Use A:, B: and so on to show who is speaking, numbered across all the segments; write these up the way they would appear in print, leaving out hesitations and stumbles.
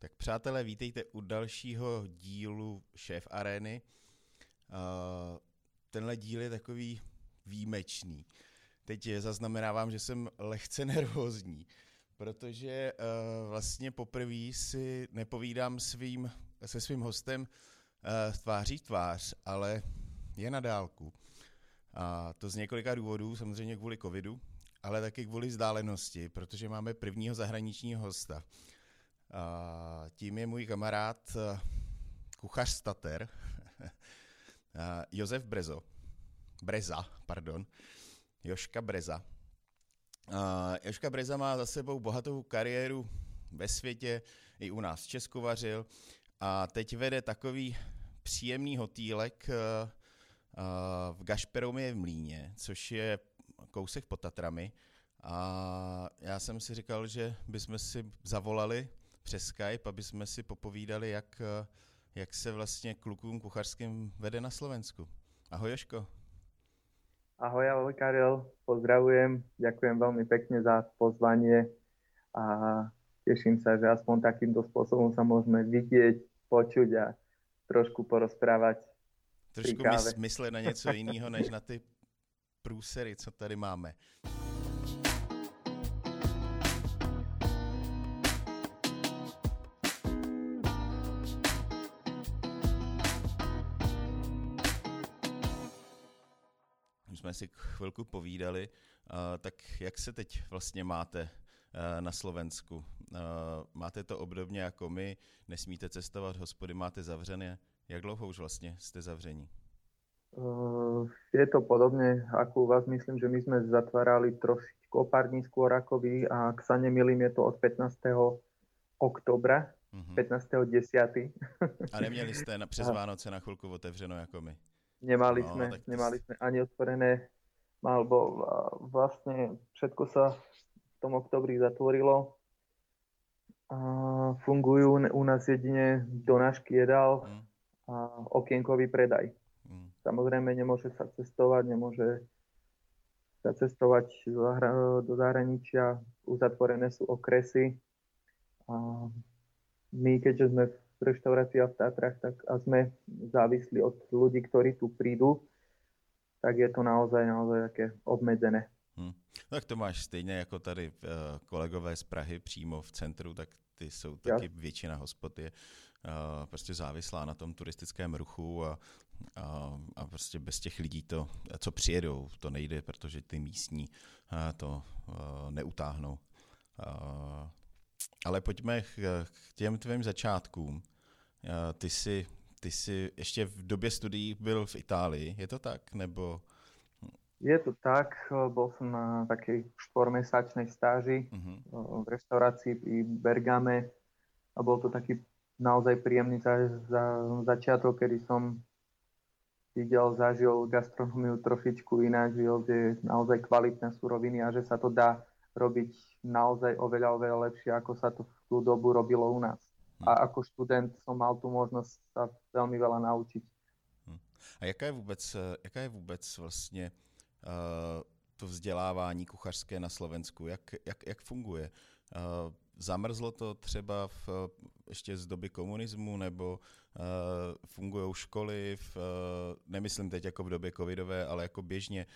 A: Tak přátelé, vítejte u dalšího dílu Šéf Arény. Tenhle díl je takový výjimečný. Teď zaznamenávám, že jsem lehce nervózní, protože vlastně poprvé si nepovídám se svým hostem tváří v tvář, ale je na dálku. A to z několika důvodů, samozřejmě kvůli covidu, ale taky kvůli vzdálenosti, protože máme prvního zahraničního hosta. Tím je můj kamarád, kuchař z Tater, Josef Jožka Breza. Jožka Breza má za sebou bohatou kariéru ve světě, i u nás v Česku vařil a teď vede takový příjemný hotýlek v Gašperově v Mlýně, což je kousek pod Tatrami. A já jsem si říkal, že bychom si zavolali přes Skype, aby jsme si popovídali, jak se vlastně klukům kuchařským vede na Slovensku. Ahoj, Jožko.
B: Ahoj Karel, pozdravujem, ďakujem veľmi pekne za pozvanie a teším sa, že aspoň takýmto spôsobom sa môžeme vidieť, počuť a trošku porozprávať.
A: Trošku myslet na něco jiného, než na ty průsery, co tady máme. Jsme si chvilku povídali, tak jak se teď vlastně máte na Slovensku? Máte to obdobně jako my, nesmíte cestovat, hospody máte zavřené. Jak dlouho už vlastně jste zavření?
B: Je to podobne ako u vás. Myslím, že my sme zatvárali trošičku o pár dní skôr ako vy a ak sa nemýlim, je to od 15. oktobra, 15.10.
A: A neměli jste přes Vánoce na chvilku otevřeno jako my?
B: Nemali sme ani otvorené, alebo vlastne všetko sa v tom oktobri zatvorilo. Fungujú u nás jedine donášky jedál a okienkový predaj. Samozrejme nemôže sa cestovať do zahraničia, uzatvorené sú okresy. My, keďže sme v reštaurácii a v Tatrách, tak a sme závislí od ľudí, ktorí tu prídu, tak je to naozaj také obmedzené.
A: Tak to máš stejně jako tady kolegové z Prahy přímo v centru, tak ty jsou taky většina hospod je prostě závislá na tom turistickém ruchu a prostě bez těch lidí to, co přijedou, to nejde, protože ty místní to neutáhnou. Ale pojďme k těm tvým začátkům. Ty jsi ještě v době studií byl v Itálii, je to tak? Nebo...
B: Je to tak, bol som na takej 4-mesačnej stáži v reštaurácii pri Bergame a bol to taký naozaj príjemný začiatok, kedy som zažil gastronómiu trošičku ináč, videl, že je naozaj kvalitné suroviny a že sa to dá robiť naozaj oveľa lepšie, ako sa to v tú dobu robilo u nás. A ako študent som mal tú možnosť sa veľmi veľa naučiť.
A: A jaká je vůbec vlastně to vzdělávání kuchařské na Slovensku? Jak funguje? Zamrzlo to třeba ještě z doby komunismu, nebo fungují školy, nemyslím teď jako v době covidové, ale jako běžně,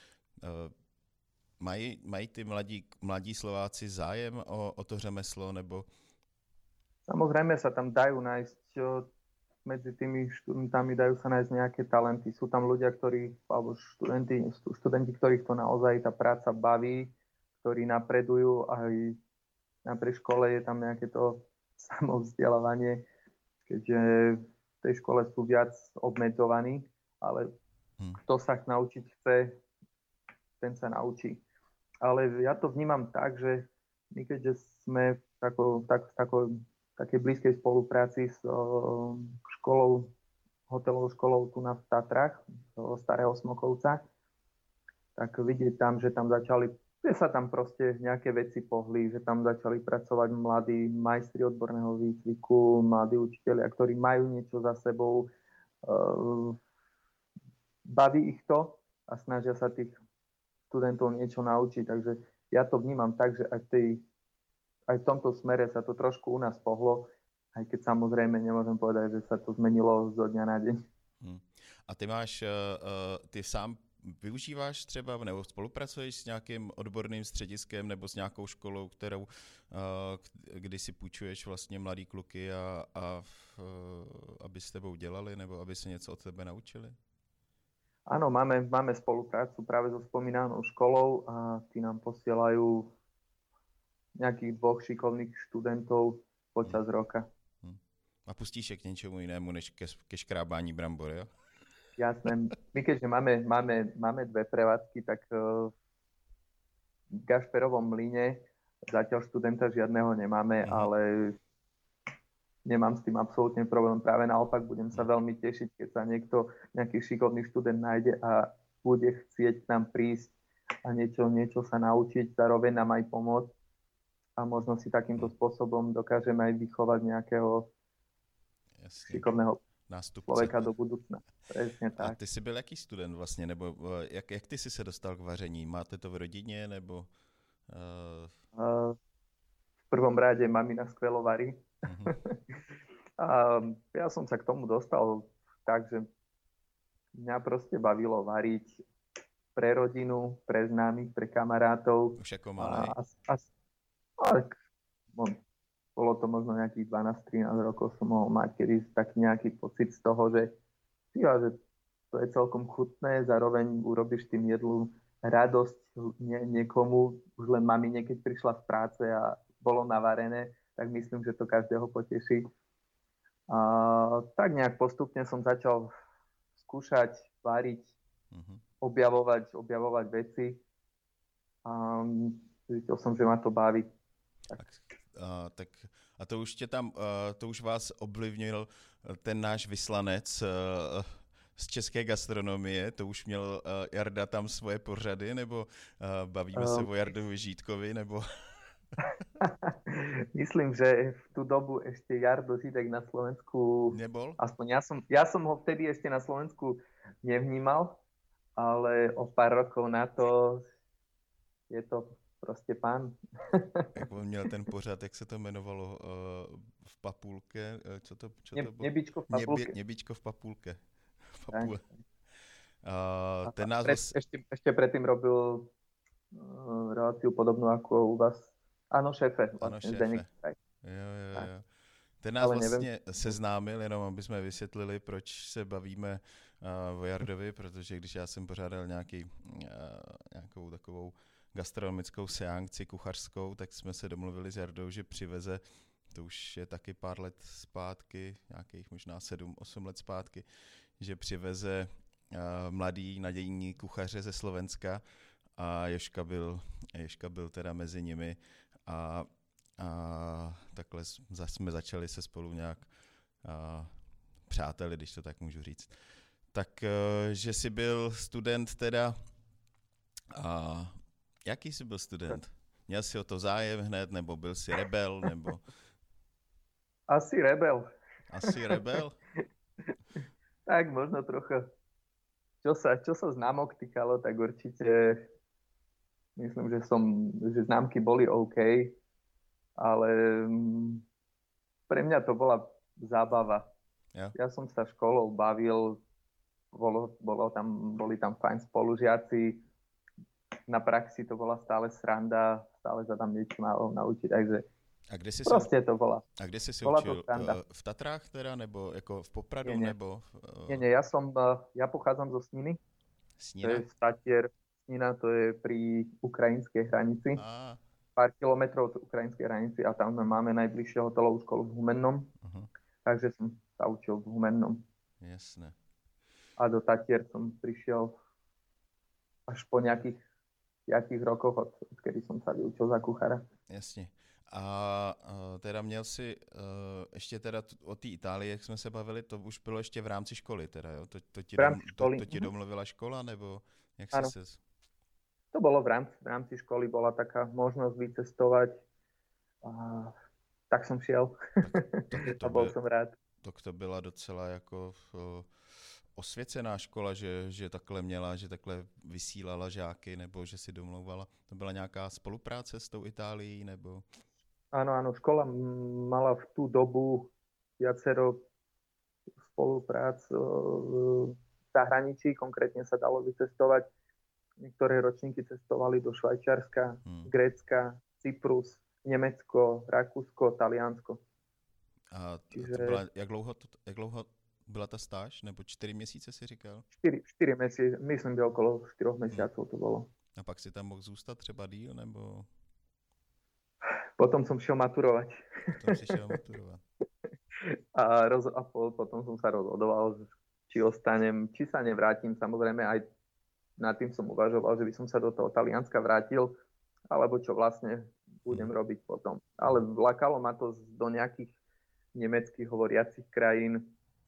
A: mají ty mladí Slováci zájem o to řemeslo, nebo?
B: Samozrejme sa tam dajú nájsť, medzi tými študentami dajú sa nájsť nejaké talenty. Sú tam ľudia, alebo študenti, ktorých to naozaj tá práca baví, ktorí napredujú, aj napriek škole je tam nejaké to samovzdelávanie, keďže v tej škole sú viac obmedzovaní, ale kto sa naučiť chce, ten sa naučí. Ale ja to vnímam tak, že my keďže sme v takej blízkej spolupráci s hotelovou školou tu na Tatrách, Starého Smokovca, tak vidieť tam, že sa tam proste nejaké veci pohli, že tam začali pracovať mladí majstri odborného výcviku, mladí učitelia, ktorí majú niečo za sebou, baví ich to a snažia sa tých študentov niečo naučiť. Takže ja to vnímam tak, že aj v tomto smere sa to trošku u nás pohlo, Aj keď samozrejme nemôžem povedať, že sa to zmenilo zo dňa na deň.
A: A ty sám využíváš třeba nebo spolupracuješ s nějakým odborným střediskem nebo s nějakou školou, kdy si půjčuješ vlastně mladý kluky aby s tebou dělali nebo aby se něco od tebe naučili?
B: Áno, máme spoluprácu práve so spomínanou školou a tí nám posielajú nejakých 2 šikovných študentov počas roka.
A: A pustíš je k něčemu jinému, než ke škrábání brambor, jo?
B: Jasné. My keďže máme 2 prevádzky, tak v Gašperovom mlyne zatiaľ študenta žiadneho nemáme, ale nemám s tým absolútne problém. Práve naopak budem sa veľmi tešiť, keď sa nejaký šikovný študent nájde a bude chcieť k nám prísť a niečo sa naučiť, zároveň nám aj pomôcť a možno si takýmto spôsobom dokážeme aj vychovať nejakého šikovného člověka do budoucna. Přesně tak.
A: A ty jsi byl jaký student vlastně, nebo jak ty jsi se dostal k vaření? Máte to v rodině, nebo...
B: V prvom rade mamina skvelo varí. A ja som sa k tomu dostal tak, že mňa proste bavilo variť pre rodinu, pre známych, pre kamarátov.
A: Už ako malej.
B: Bolo to možno nejakých 12-13 rokov som mohol mať kedy taký nejaký pocit z toho, že to je celkom chutné, zároveň urobíš tým jedlu radosť niekomu, už len mamine, keď prišla z práce a bolo navarené, tak myslím, že to každého poteší. A tak nejak postupne som začal skúšať, variť, objavovať veci a zistil som, že ma to baví.
A: A to už to už vás ovlivnil ten náš vyslanec z české gastronomie, to už měl Jarda tam svoje pořady, nebo bavíme se o Jardovi Žítkovi, nebo...
B: Myslím, že v tú dobu ešte Jardo Žídek na Slovensku...
A: Nebol?
B: Aspoň ja som ho vtedy ešte na Slovensku nevnímal, ale o pár rokov na to je to prostě pán.
A: Jak on měl ten pořad, jak se to jmenovalo v Papulke? Co to bylo?
B: Nebičko v Papulke.
A: Nebičko v Papulke.
B: Ten názov... Ešte predtým robil reláciu podobnú ako u vás. Ano, šéfe.
A: Vlastně jo. Ten nás vlastně seznámil, jenom aby jsme vysvětlili, proč se bavíme o Jardovi, protože když já jsem pořádal nějakou takovou gastronomickou seanci kuchařskou, tak jsme se domluvili s Jardou, že přiveze, to už je taky pár let zpátky, nějakých možná 7-8 let zpátky, že přiveze mladý nadějní kuchaře ze Slovenska a Jožka byl teda mezi nimi a takhle jsme začali se spolu nějak přáteli, když to tak můžu říct. Tak, že jsi byl student teda, jaký jsi byl student? Měl jsi o to zájem hned, nebo byl jsi rebel, nebo...
B: Asi rebel.
A: Asi rebel?
B: Tak možno trocha. Čo sa známok týkalo, tak určite myslím, že známky boli OK, ale pre mňa to bola zábava.
A: Ja.
B: Ja som sa školou bavil, boli tam fajn spolužiaci, na praxi to bola stále sranda, stále sa tam niečo naučiť, takže proste to bola.
A: A kde si učil? V Tatrách teda, nebo jako v Popradu,
B: nie.
A: nebo...
B: Nie, ja pochádzam zo Sniny.
A: Snina?
B: To je Statier. Snina, to je pri ukrajinskej hranici. Pár kilometrov od ukrajinskej hranici a tam máme najbližšie hotelovú školu v Humennom. Takže som sa učil v Humennom.
A: Jasné.
B: A do Tatier som prišiel až po nejakých 5 rokoch, odkedy som sa vyučil za kuchára.
A: Jasně. A teda měl si ještě teda o té Itálii, jak jsme se bavili, to už bylo ještě v rámci školy teda, jo? To ti domluvila škola, nebo jak si ses...
B: To bolo v rámci školy, bola taká možnosť vycestovať a tak som šiel a bol som rád.
A: To byla docela jako osvěcená škola, že takhle měla, že takhle vysílala žáky, nebo že si domlouvala. To byla nějaká spolupráce s tou Itálií, nebo...
B: Áno, škola mala v tú dobu viacero spoluprác v zahraničí, konkrétne sa dalo vycestovať. Niektoré ročníky cestovali do Švajčiarska, Grécka, Cyprus, Německo, Rakúsko, Taliansko.
A: A to byla, jak dlouho byla ta stáž? Nebo 4 měsíce si říkal?
B: 4 měsíce, myslím, že okolo 4 měsíců to bylo.
A: A pak si tam mohl zůstat třeba díl, nebo?
B: Potom som šiel maturovať. A potom som sa rozhodoval, či ostanem, či sa nevrátim. Samozrejme aj nad tým som uvažoval, že by som sa do toho Talianska vrátil, alebo čo vlastne budem robiť potom. Ale lákalo ma to do nejakých nemeckých hovoriacich krajín.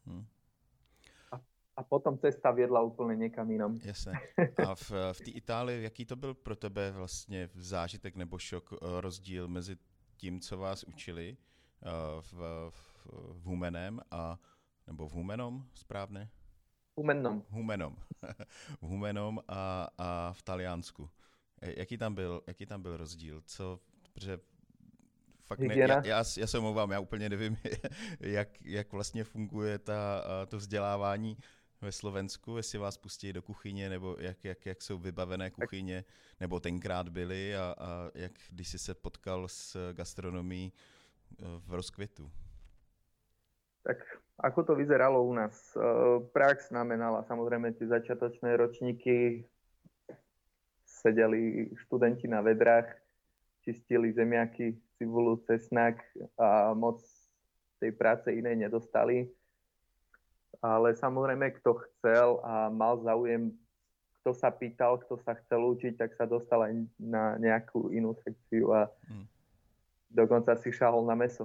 B: A potom cesta viedla úplně někam jinam.
A: Jasně. A v té Itálii, jaký to byl pro tebe vlastně zážitek nebo šok, rozdíl mezi tím, co vás učili v Humenem nebo v Humenom, správně? Humenom. V Humenom a v Taliansku. Jaký tam byl rozdíl? Protože fakt já se omlouvám, já úplně nevím, jak vlastně funguje to vzdělávání ve Slovensku, jestli vás pustí do kuchyně, nebo jak jsou vybavené kuchyně, nebo tenkrát byly a jak když jsi se potkal s gastronomií v rozkvětu.
B: Tak ako to vyzeralo u nás? Prax znamenala samozrejme tie začiatočné ročníky, sedeli študenti na vedrách, čistili zemiaky, cibulu, cesnak a moc tej práce inej nedostali. Ale samozrejme, kto chcel a mal záujem, kto sa pýtal, kto sa chcel učiť, tak sa dostal aj na nejakú inú sekciu a dokonca si šahol na mäso.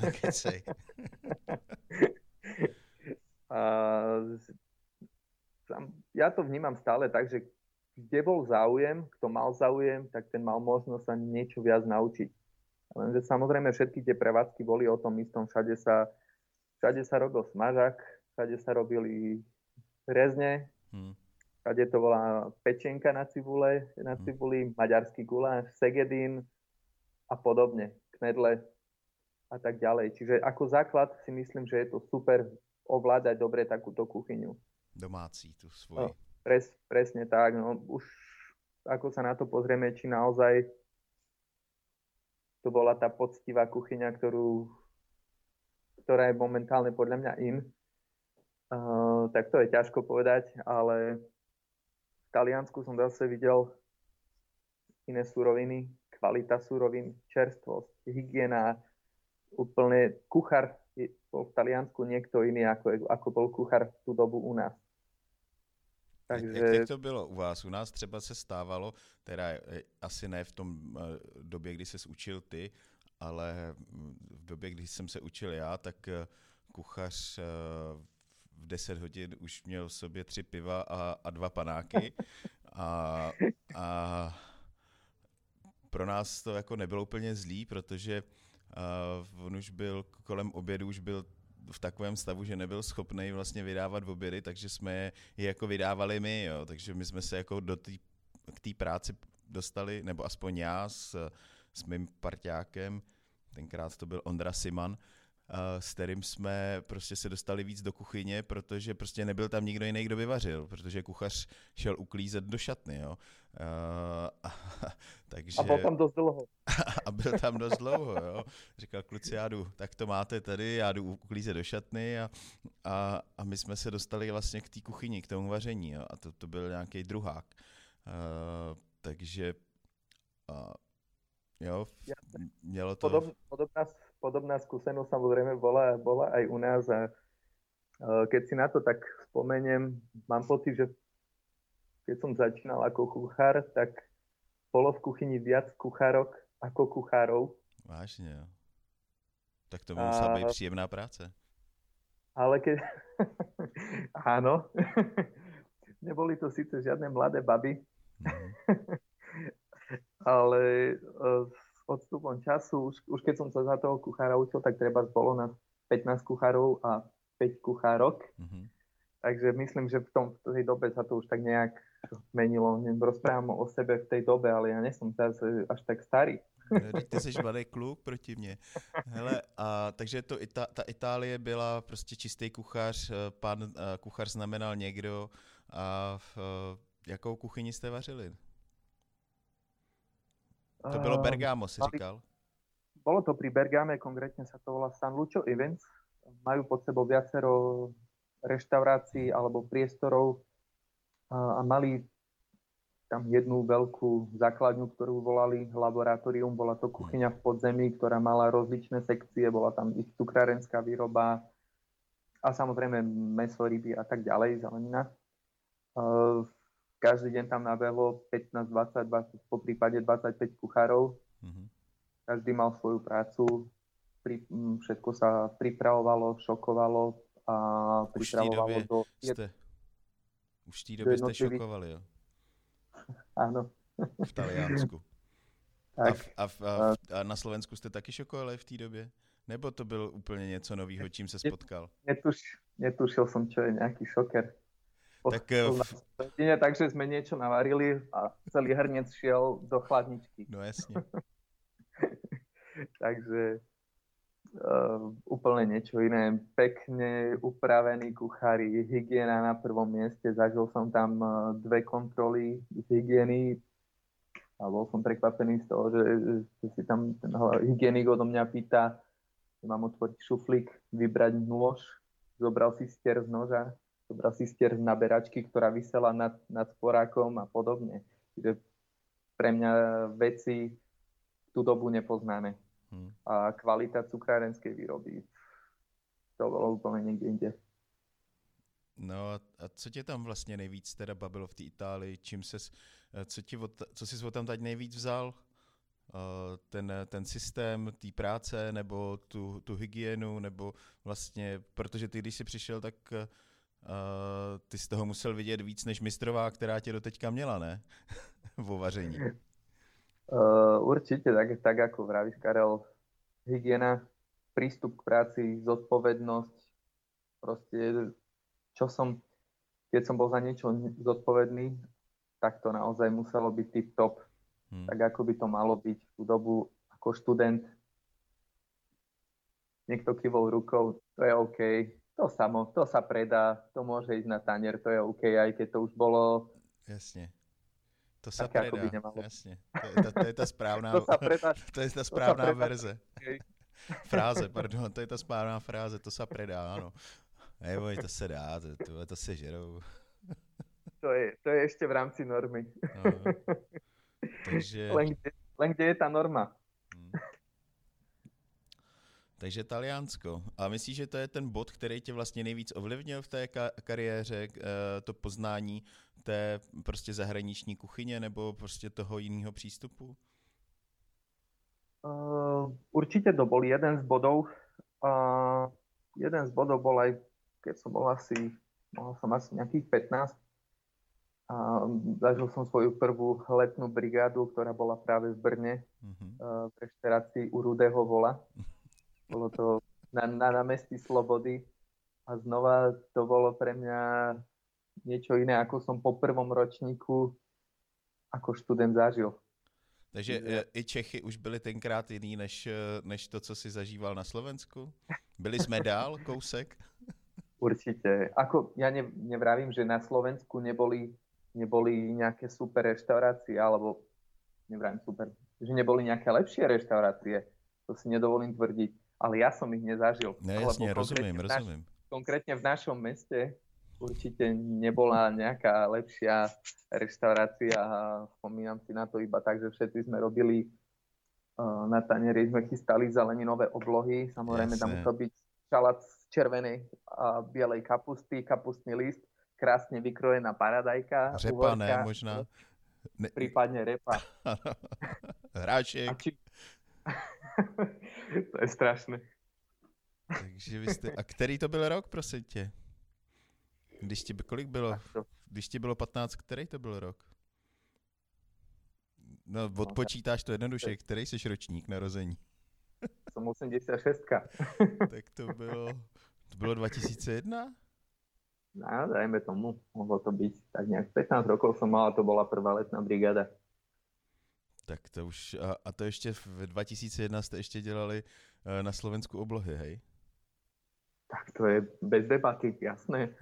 B: Ja to vnímam stále tak, že kde bol záujem, kto mal záujem, tak ten mal možnosť sa niečo viac naučiť. Lenže samozrejme všetky tie prevádzky boli o tom istom. Všade sa robil smažák, všade sa robili rezne, všade to bola pečenka na cibuli, maďarský guláš, segedín a podobne, knedle a tak ďalej. Čiže ako základ si myslím, že je to super ovládať dobre takúto kuchyňu.
A: Domácí tu svoji.
B: Presne tak. No, už ako sa na to pozrieme, či naozaj to bola tá poctivá kuchyňa, ktorá je momentálne podľa mňa in. Tak to je ťažko povedať, ale v Taliansku som zase videl iné suroviny, kvalita surovín, čerstvosť, hygiena, úplne kuchár bol v Taliansku niekto iný, ako bol kuchár v tú dobu u nás.
A: Takže... Jak to bylo u vás? U nás třeba se stávalo, teda asi ne v tom době, kdy ses učil ty, ale v době, kdy jsem se učil já, tak kuchař v 10 hodin už měl v sobě 3 piva a 2 panáky a pro nás to jako nebylo úplně zlý, protože on už byl kolem obědu, už byl v takovém stavu, že nebyl schopný vlastně vydávat obědy, takže jsme je jako vydávali my, jo. Takže my jsme se jako k té práci dostali, nebo aspoň já s mým parťákem, tenkrát to byl Ondra Siman, s kterým jsme prostě se dostali víc do kuchyně, protože prostě nebyl tam nikdo jiný, kdo by vařil, protože kuchař šel uklízet do šatny, jo. Takže...
B: A byl tam dost dlouho.
A: A byl tam dost dlouho, jo. Říkal, kluci, tak to máte tady, já jdu uklízet do šatny a my jsme se dostali vlastně k té kuchyni, k tomu vaření, jo. A to byl nějaký druhák. Takže jo, mělo to...
B: Podobná skúsenosť samozrejme bola aj u nás a keď si na to tak spomeniem, mám pocit, že keď som začínal ako kuchár, tak bolo v kuchyni viac kuchárok ako kuchárov.
A: Vážne, jo. Tak to musela byť príjemná práca.
B: Ale keď... Áno. Neboli to síce žiadne mladé baby, ale odstupom času, už keď som sa za toho kuchára učil, tak treba bolo nás 15 kuchárov a 5 kuchárok. Takže myslím, že v tej dobe sa to už tak nejak menilo. Rozprávam o sebe v tej dobe, ale ja nie som až tak starý.
A: No, ty jsi mladý kluk proti mně. Hele, a takže ta Itálie byla prostě čistý kuchař, pan kuchař znamenal někdo a jakou kuchyni jste vařili? To bylo Bergamo, si říkal?
B: Bolo to pri Bergame, konkrétne sa to volá San Lucio Events. Majú pod sebou viacero reštaurácií alebo priestorov a mali tam jednu veľkú základňu, ktorú volali laboratórium. Bola to kuchyňa v podzemí, ktorá mala rozličné sekcie, bola tam ich cukrárenská výroba a samozrejme mäso, ryby a tak ďalej, zelenina. Každý deň tam nabehlo 15, 20, 20 po prípade 25 kuchárov. Každý mal svoju prácu, všetko sa pripravovalo, šokovalo a pripravovalo do...
A: Už v té době jste šokovali, jo?
B: Áno.
A: V Taliansku. A na Slovensku jste taky šokovali v té době? Nebo to byl úplně něco nového, čím se spotkal?
B: Netušil som, čo je nejaký šoker. Takže sme niečo navarili a celý hrniec šiel do chladničky.
A: No jasne.
B: Takže úplne niečo iné. Pekne upravení kuchári, hygiena na prvom mieste. Zažil som tam 2 kontroly hygieny a bol som prekvapený z toho, že si tam ten hygienik odo mňa pýta, že mám otvoriť šuflík, vybrať nôž, zobral si stier z noža, zobral si stier z naberačky, ktorá visela nad sporákom a podobne. Čiže pre mňa veci v tú dobu nepoznáme. A kvalita cukrárenskej výroby, to bolo úplne niekde inde.
A: No a co tě tam vlastně nejvíc teda bavilo v té Itálii? Co jsi tam teď nejvíc vzal? Ten systém té práce nebo tu hygienu, nebo vlastně, protože ty, když jsi přišel, tak ty z toho musel vidět víc než mistrová, která tě doteďka měla, ne? Vo vaření.
B: Určite, tak ako vravíš, Karel, hygiena, prístup k práci, zodpovednosť, proste, keď som bol za niečo zodpovedný, tak to naozaj muselo byť tip-top, tak ako by to malo byť v tú dobu ako študent. Niekto kývol rukou, to je OK, to sa predá, to môže ísť na tanier, to je OK, aj keď to už bolo...
A: Jasne. To sa predá, jasne. To je ta správná, to je ta správná verze. Fráze, pardon, to je ta správná fráze, to sa predá, áno. Neboj, to sa dá, to se žerou.
B: To je ešte v rámci normy.
A: No, takže...
B: Len kde je tá norma?
A: Takže Taliansko. A myslíš, že to je ten bod, který tě vlastně nejvíc ovlivnil v té kariéře, to poznání té prostě zahraniční kuchyně nebo prostě toho jiného přístupu?
B: Určite to bol jeden z bodov. Jeden z bodov bol aj, keď som bol mal som asi nejakých 15. Zažil som svoju prvú letnú brigádu, ktorá bola práve v Brne, v reštaurácii u Rudého vola. Bolo to na námestí Slobody a znova to bolo pre mňa niečo iné, ako som po prvom ročníku ako študent zažil.
A: Takže i Čechy už byli tenkrát jiný, než to, co si zažíval na Slovensku? Byli jsme dál, kousek?
B: Určite. Ja nevravím, že na Slovensku neboli nejaké super reštaurácie, alebo nevravím super, že neboli nejaké lepšie reštaurácie. To si nedovolím tvrdiť. Ale ja som ich nezažil.
A: No jasne, rozumiem.
B: Konkrétne v našom meste určite nebola nejaká lepšia reštaurácia a spomínam si na to iba tak, že všetci sme robili na tanieri, sme chystali zeleninové oblohy. Samozrejme, tam musel byť šalát z červenej a bielej kapusty, kapustný list, krásne vykrojená paradajka.
A: Řepa, ne, možná.
B: Prípadne repa.
A: Hráček.
B: To je strašné.
A: Takže vy jste... A který to byl rok, prosím tě? Kolik bylo? Když ti bylo 15, který to byl rok? No, odpočítáš to jednoduše. Který jsi ročník narození?
B: Som 86.
A: Tak to bylo 2001?
B: No, dajme tomu. Mohlo to byť tak nejak 15 rokov som mal a to bola prvá letná brigáda.
A: Tak to už, a to ještě v 2001 jste ještě dělali na Slovensku oblohy, hej?
B: Tak to je bez debaty, jasné.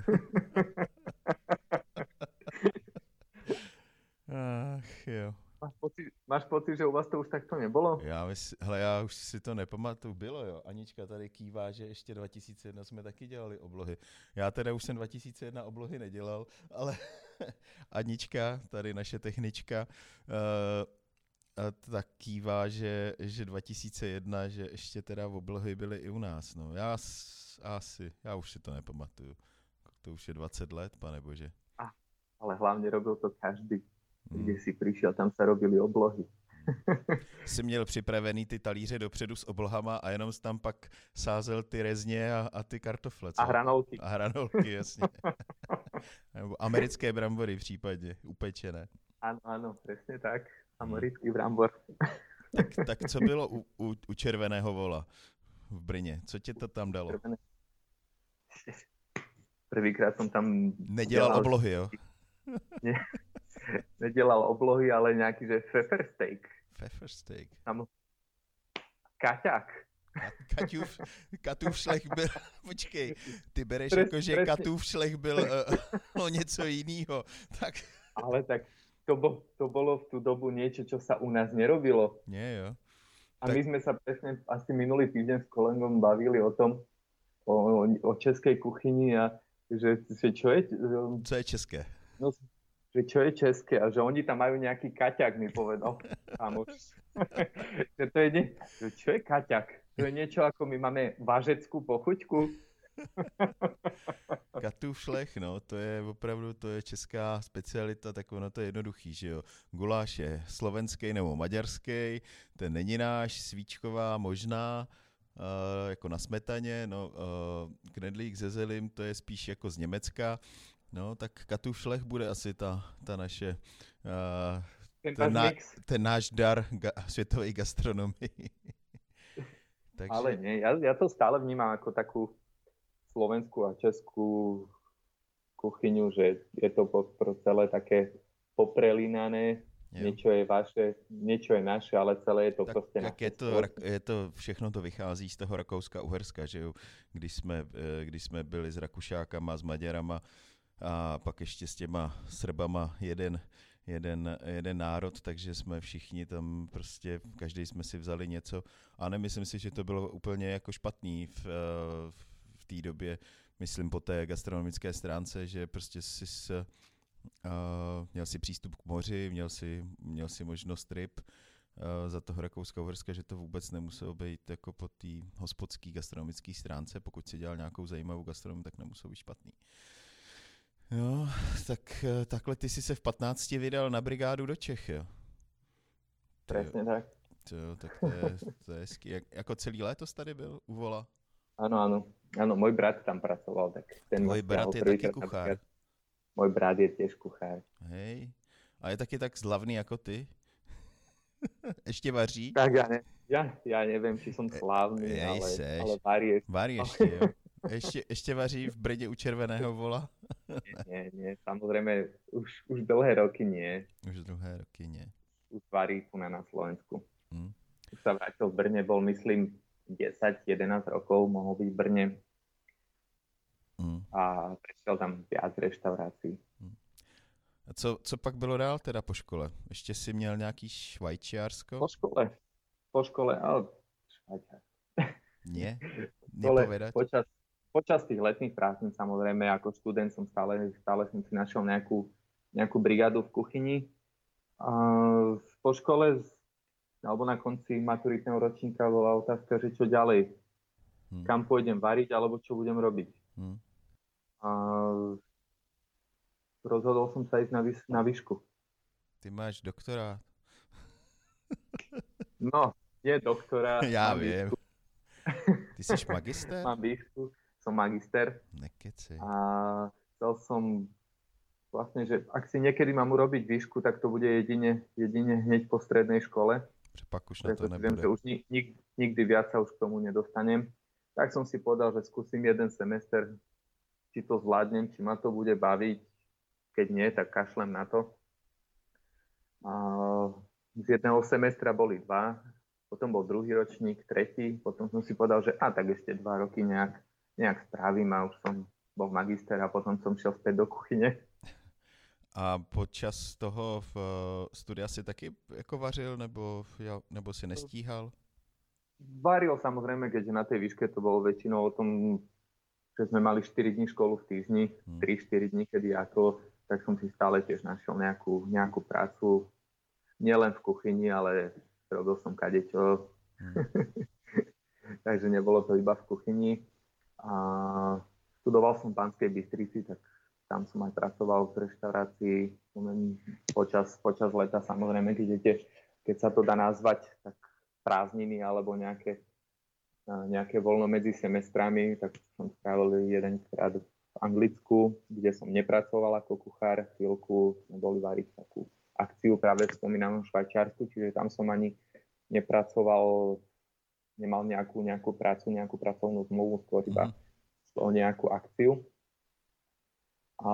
A: Ach jo.
B: Máš pocit, že u vás to už takto nebolo?
A: Já už si to nepamatuju, bylo jo. Anička tady kývá, že ještě 2001 jsme taky dělali oblohy. Já teda už jsem 2001 oblohy nedělal, ale Anička, tady naše technička, tak kývá, že 2001, že ještě teda oblohy byly i u nás. No. Já už si to nepamatuju. To už je 20 let, pane bože.
B: Ale hlavně robil to každý. Kde si přišel, tam se robili oblohy.
A: Jsi měl připravený ty talíře dopředu s oblohama a jenom jsi tam pak sázel ty rezně a ty kartofle. Co?
B: A hranolky.
A: A hranolky, jasně. Nebo americké brambory případně, upečené.
B: Ano, přesně tak. Americký brambor.
A: Tak co bylo u Červeného vola v Brně? Co tě to tam dalo?
B: Prvýkrát jsem tam...
A: Nedělal oblohy, jo?
B: Nedělal oblohy, ale nějaký, že pfeffer steak.
A: Pfeffer steak.
B: Tam... Kaťák.
A: Katův šlech byl, počkej, ty bereš jako, že Katův šlech byl o něco jinýho. Tak...
B: Ale tak to bolo v tú dobu niečo, čo sa u nás nerobilo.
A: Nie, jo.
B: A my sme sa presne asi minulý týždeň s kolegom bavili o tom, o českej kuchyni a že čo je...
A: Co je české?
B: No, že čo je české a že oni tam majú nejaký kaťak, mi povedal. Že to je že čo je kaťak? To je niečo ako my máme vařeckú pochuťku.
A: Katův šlech, no, to je opravdu, to je česká specialita, tak ono to je jednoduchý, že jo. Guláš je slovenský nebo maďarský, ten není náš, svíčková možná, jako na smetaně, no, knedlík ze zelim, to je spíš jako z Německa, no, tak Katův šlech bude asi ta naše, ten náš dar světové gastronomii.
B: Takže... Ale nie, ja to stále vnímam ako takú slovenskú a českú kuchyňu, že je to celé také poprelínané, niečo je vaše, niečo je naše, ale celé je to tak, prostě
A: naše. Je to, všechno to vychází z toho Rakouska-Uherska, že jo, když jsme byli s Rakušákama, s Maďarama a pak ještě s těma Srbama jeden národ, takže jsme všichni tam prostě, každý jsme si vzali něco a nemyslím si, že to bylo úplně jako špatný v té době, myslím po té gastronomické stránce, že prostě měl si přístup k moři, měl si možnost ryb za toho Rakouska-Uherska, že to vůbec nemuselo být jako po té hospodské gastronomické stránce, pokud si dělal nějakou zajímavou gastronomii, tak nemuselo být špatný. Jo, tak takhle ty jsi se v 15 vydal na brigádu do Čech, jo?
B: Presne tak.
A: Tak to je hezký. Jako celý léto tady byl u Vola?
B: Áno, môj brat tam pracoval. Tak ten
A: tvoj brat je taky kuchár?
B: Môj brat je tiež kuchár.
A: Hej, a je taky tak slavný jako ty? Ještě vaří?
B: Tak ja neviem, či som slavný, ale varí.
A: Varí ještě, jo. Ešte vaří v Brně u Červeného vola?
B: Nie, samozrejme, už dlhé roky nie.
A: Už dlhé roky nie.
B: Už varí tu na Slovensku. Už sa vrátil v Brne, bol myslím 10-11 rokov, mohol byť v Brne. A prešiel tam viac reštaurácií.
A: A co pak bylo dál teda po škole? Ještě si měl nějaký švajčiarsko?
B: Po škole, ale švajčiarsko.
A: Nie? Nepovedať?
B: Počas tých letných prázdnin, samozrejme, ako študent som stále som si našiel nejakú brigádu v kuchyni. A po škole, alebo na konci maturitného ročníka bola otázka, že čo ďalej. Kam pôjdem variť, alebo čo budem robiť. A rozhodol som sa ísť na výšku.
A: Ty máš doktorát.
B: No, je doktorát.
A: Já vím. Ty jsi magister?
B: Mám výšku, som magister.
A: Nekeci.
B: A chcel som vlastne, že ak si niekedy mám urobiť výšku, tak to bude jedine hneď po strednej škole.
A: Pak už na to nebude.
B: Viem, že už nikdy viac sa už k tomu nedostanem. Tak som si povedal, že skúsim jeden semester, či to zvládnem, či ma to bude baviť. Keď nie, tak kašlem na to. A z jedného semestra boli 2, potom bol druhý ročník, tretí, potom som si povedal, že tak ešte 2 roky nejak strávim a už som bol magister a potom som šiel späť do kuchyne.
A: A počas toho studia si taky jako vařil, nebo si nestíhal?
B: Varil samozrejme, keďže na tej výške to bolo väčšinou o tom, že sme mali 4 dní školu v týždni, 3-4 dní, kedy ako, tak som si stále tiež našiel nejakú prácu, nielen v kuchyni, ale robil som kadečo. Takže nebolo to iba v kuchyni. A študoval som v Banskej Bystrici, tak tam som aj pracoval v reštaurácii počas leta, samozrejme, keď sa to dá nazvať, tak prázdniny alebo nejaké voľno medzi semestrami, tak som strávil jedenkrát v Anglicku, kde som nepracoval ako kuchár, chvíľku sme boli variť takú akciu práve v spomínanom Švajčiarsku, čiže tam som ani nepracoval, nemal nejakú prácu, nejakú pracovnú zmluvu, skôr iba o nejakú akciu. A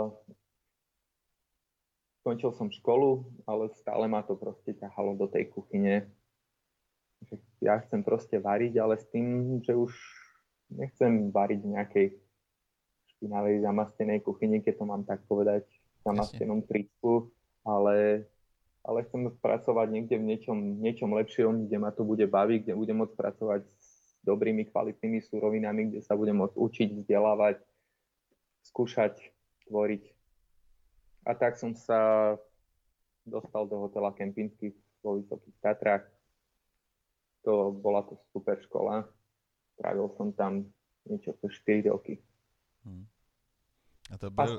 B: skončil som školu, ale stále ma to proste ťahalo do tej kuchyne. Ja chcem proste variť, ale s tým, že už nechcem variť v nejakej špinavej zamastenej kuchyni, keď to mám tak povedať, v zamastenom trísku, ale chcem pracovať niekde v niečom lepšom, kde ma to bude baviť, kde budem môcť pracovať s dobrými, kvalitnými surovinami, kde sa budem môcť učiť, vzdelávať, skúšať, tvoriť. A tak som sa dostal do hotela Kempinski vo Vysokých Tatrách. Bola to super škola. Trávil som tam niečo po 4 roky.
A: A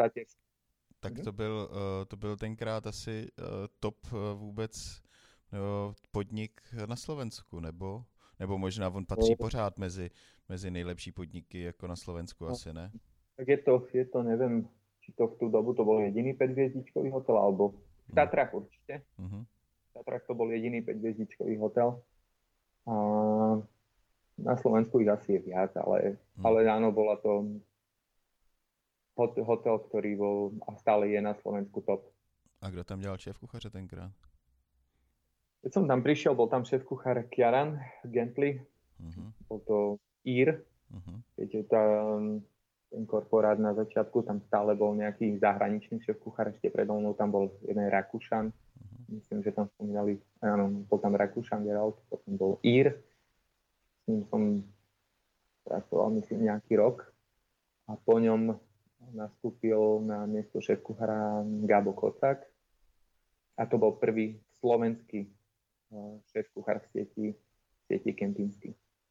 A: to byl tenkrát asi top vůbec podnik na Slovensku, nebo možná on patří pořád mezi nejlepší podniky jako na Slovensku, asi ne?
B: Tak je to, neviem, či to v tú dobu to bol jediný 5-hviezdičkový hotel, alebo v Tatrách určite. V Tatrách to bol jediný 5-hviezdičkový hotel. A na Slovensku ich asi je viac, ale áno, bola to hotel, ktorý bol a stále je na Slovensku top.
A: A kdo tam dělal šéf kuchaře tenkrát?
B: Keď som tam prišiel, bol tam šéf kuchár Kieran Gentley. Bol to Ír. Viete, ten korporát na začiatku, tam stále bol nejaký zahraničný šéf kuchár, ešte predo mnou tam bol jeden Rakúšan. Myslím, že tam spomínali, áno, bol tam Rakúšan Geralt, potom bol Ír. S ním som pracoval, myslím, nejaký rok. A po ňom nastúpil na miesto šéf-kuchára Gabo Kocák. A to bol prvý slovenský šéf-kuchár v sieti Kempinski.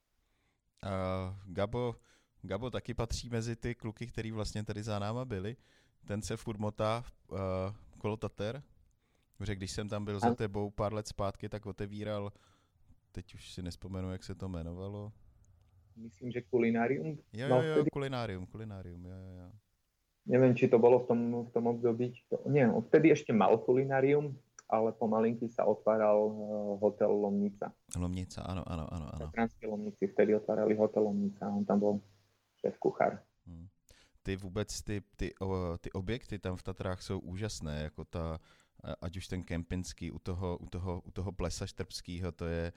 A: Gabo taky patří mezi ty kluky, který vlastně tady za náma byli. Ten se furt motá kolo Tater. Protože když jsem tam byl za tebou pár let zpátky, tak otevíral, teď už si nespomenu, jak se to jmenovalo.
B: Myslím, že Kulinárium.
A: Jo, Kulinárium, jo.
B: Neviem, či to bolo v tom období. Nie, vtedy ešte mal Kulinárium, ale pomalinky sa otváral hotel Lomnica.
A: Lomnica, áno.
B: V Tatranskej Lomnici vtedy otvárali hotel Lomnica a on tam bol šéf-kuchár.
A: Ty vůbec, ty objekty tam v Tatrách jsou úžasné, jako ať už ten Kempinský u toho Plesa Štrbskýho, to je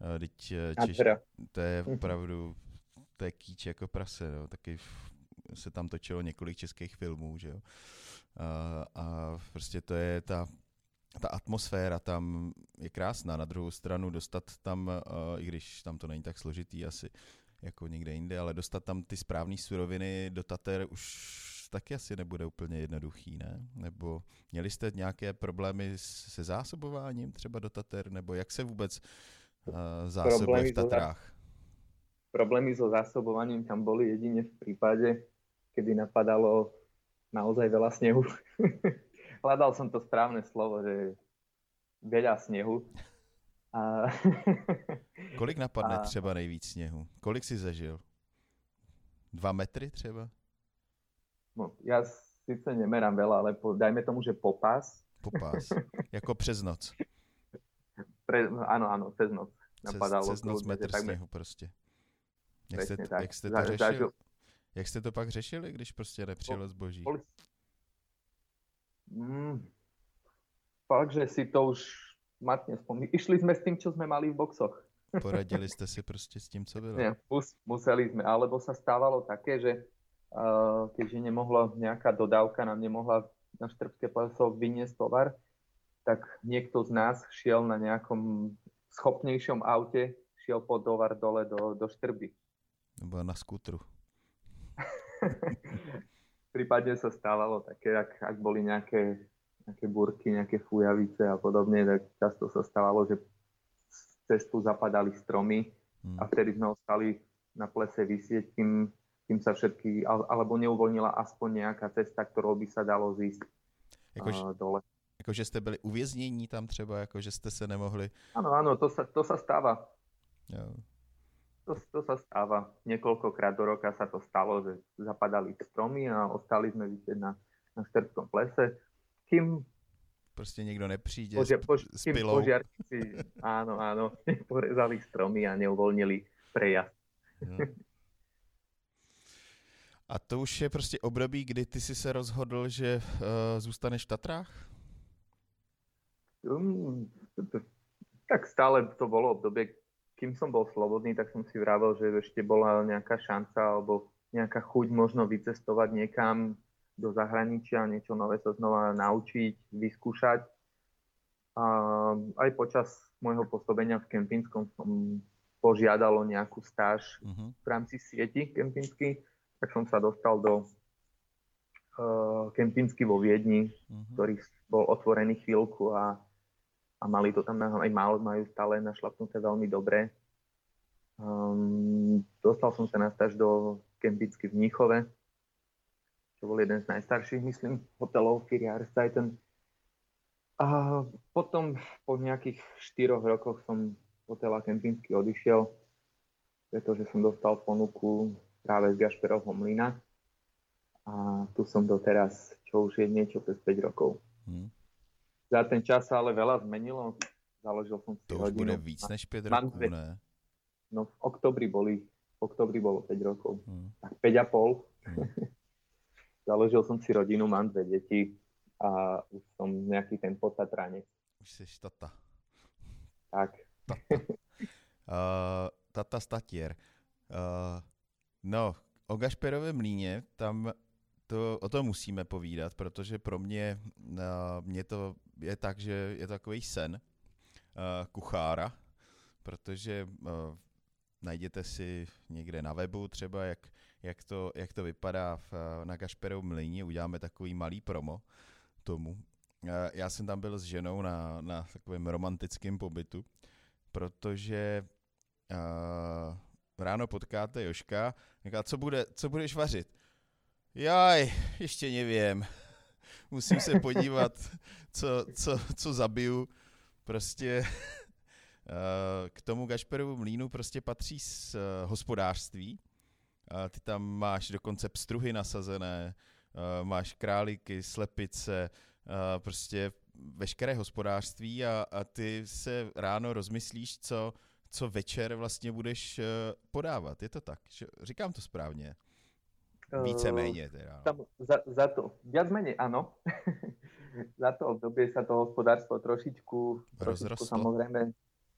A: to je opravdu, to je kýč jako prase, no. Taky se tam točilo několik českých filmů, že jo. A prostě to je ta atmosféra tam je krásná. Na druhou stranu dostat tam, i když tam to není tak složitý asi jako někde jinde, ale dostat tam ty správné suroviny do Tater už taky asi nebude úplně jednoduchý, ne? Nebo měli jste nějaké problémy se zásobováním třeba do Tater, nebo jak se vůbec zásobuje v Tatrách?
B: Problémy so zásobovaním tam boli jedine v prípade, kedy napadalo naozaj veľa snehu. Hľadal som to správne slovo, že veľa snehu.
A: Kolik napadne třeba nejvíc sněhu? Kolik si zažil? 2 metry třeba?
B: No, ja síce nemerám veľa, ale dajme tomu, že popás.
A: Popás. Jako přes noc.
B: Áno, přes noc. Napadalo.
A: Přes noc metr sněhu prostě. Jak jste to pak řešili, když prostě nepřijelo zboží?
B: Fakt, že si to už matne spomínam. Išli sme s tým, čo sme mali v boxoch.
A: Poradili ste si proste s tým, co bylo.
B: Nie, museli sme, alebo sa stávalo také, že keďže nejaká dodávka nám nemohla na Štrbské pleso vyniesť tovar, tak niekto z nás šiel na nejakom schopnejšom aute, šiel po tovar dole do Štrby.
A: Nebo na skútru.
B: Prípadne sa stávalo také, ak boli nejaké búrky, nejaké fujavice a podobne, tak často sa stávalo, že cestu zapadali stromy a vtedy sme ostali na plese visieť, kým sa všetky, alebo neuvoľnila aspoň nejaká cesta, ktorou by sa dalo zísť dole.
A: Jakože jste byli uvěznění tam třeba, jakože jste se nemohli...
B: Áno, to sa stáva.
A: Jo.
B: To sa stáva. Niekoľkokrát do roka sa to stalo, že zapadali stromy a ostali sme visieť na Štrbskom plese. Kým
A: prostě někdo nepřijde s
B: kým
A: pilou.
B: požiarníci, áno, porezali stromy a neuvoľnili prejazd.
A: A to už je prostě období, kdy ty jsi se rozhodl, že zůstaneš v Tatrách?
B: Tak stále to bolo obdobie, kým som bol slobodný, tak som si vravel, že ešte bola nejaká šanca alebo nejaká chuť možno vycestovať niekam do zahraničia, niečo nové sa znova naučiť, vyskúšať. A aj počas môjho pôsobenia v Kempínskom som požiadal o nejakú stáž v rámci sieti Kempínsky, tak som sa dostal do Kempínsky vo Viedni, ktorý bol otvorený chvíľku a mali to tam, aj majú stále našlapnuté veľmi dobre. Dostal som sa na stáž do Kempínsky v Mníchove, čo bol jeden z najstarších, myslím, hotelov Vier Jahreszeiten. A potom po nejakých 4 rokoch som z hotela Kempínsky odišiel, pretože som dostal ponuku práve z Gašperovho mlyna. A tu som doteraz, čo už je niečo cez 5 rokov. Za ten čas sa ale veľa zmenilo. Založil som si
A: to
B: rodinu.
A: To už bude víc než 5 rokov, ne?
B: No v oktobri bolo 5 rokov. Tak 5,5. Založil som si rodinu, mám 2 deti a už som nejaký ten potatranec.
A: Už jsi tata.
B: Tak.
A: Tata Statier. No, o Gašperově mlýně, tam o tom musíme povídat, protože pro mě to je tak, že je to takový sen kuchára, protože najděte si někde na webu třeba, jak to vypadá na Gašperově mlýně, uděláme takový malý promo tomu. Já jsem tam byl s ženou na takovém romantickém pobytu, protože ráno potkáte Joška, říká, co budeš vařit? Jaj, ještě nevím. Musím se podívat, co zabiju. Prostě k tomu Gašperovu mlýnu prostě patří z hospodářství. Ty tam máš dokonce pstruhy nasazené, máš králíky, slepice, prostě veškeré hospodářství a ty se ráno rozmyslíš, co večer vlastně budeš podávat. Je to tak? Říkám to správně? Víceméně teda.
B: Za to, viac menej áno. Za to obdobie sa to hospodárstvo trošičku samozrejme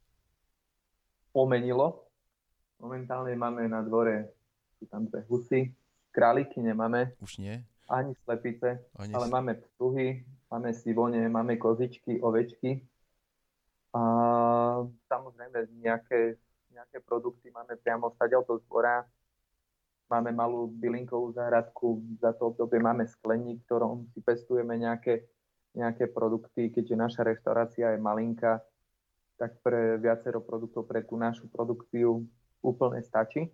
B: pomenilo. Momentálne máme na dvore, sú tam 2 husy, králiky nemáme.
A: Už nie?
B: Ani slepice, ale máme pstruhy, máme sivone, máme kozičky, ovečky. A samozrejme nejaké produkty máme priamo stadiaľto z dvora. Máme malú bylinkovú záhradku, za to obdobie máme skleník, v ktorom si pestujeme nejaké produkty, keďže naša reštaurácia je malinká, tak pre viacero produktov, pre tú našu produkciu úplne stačí.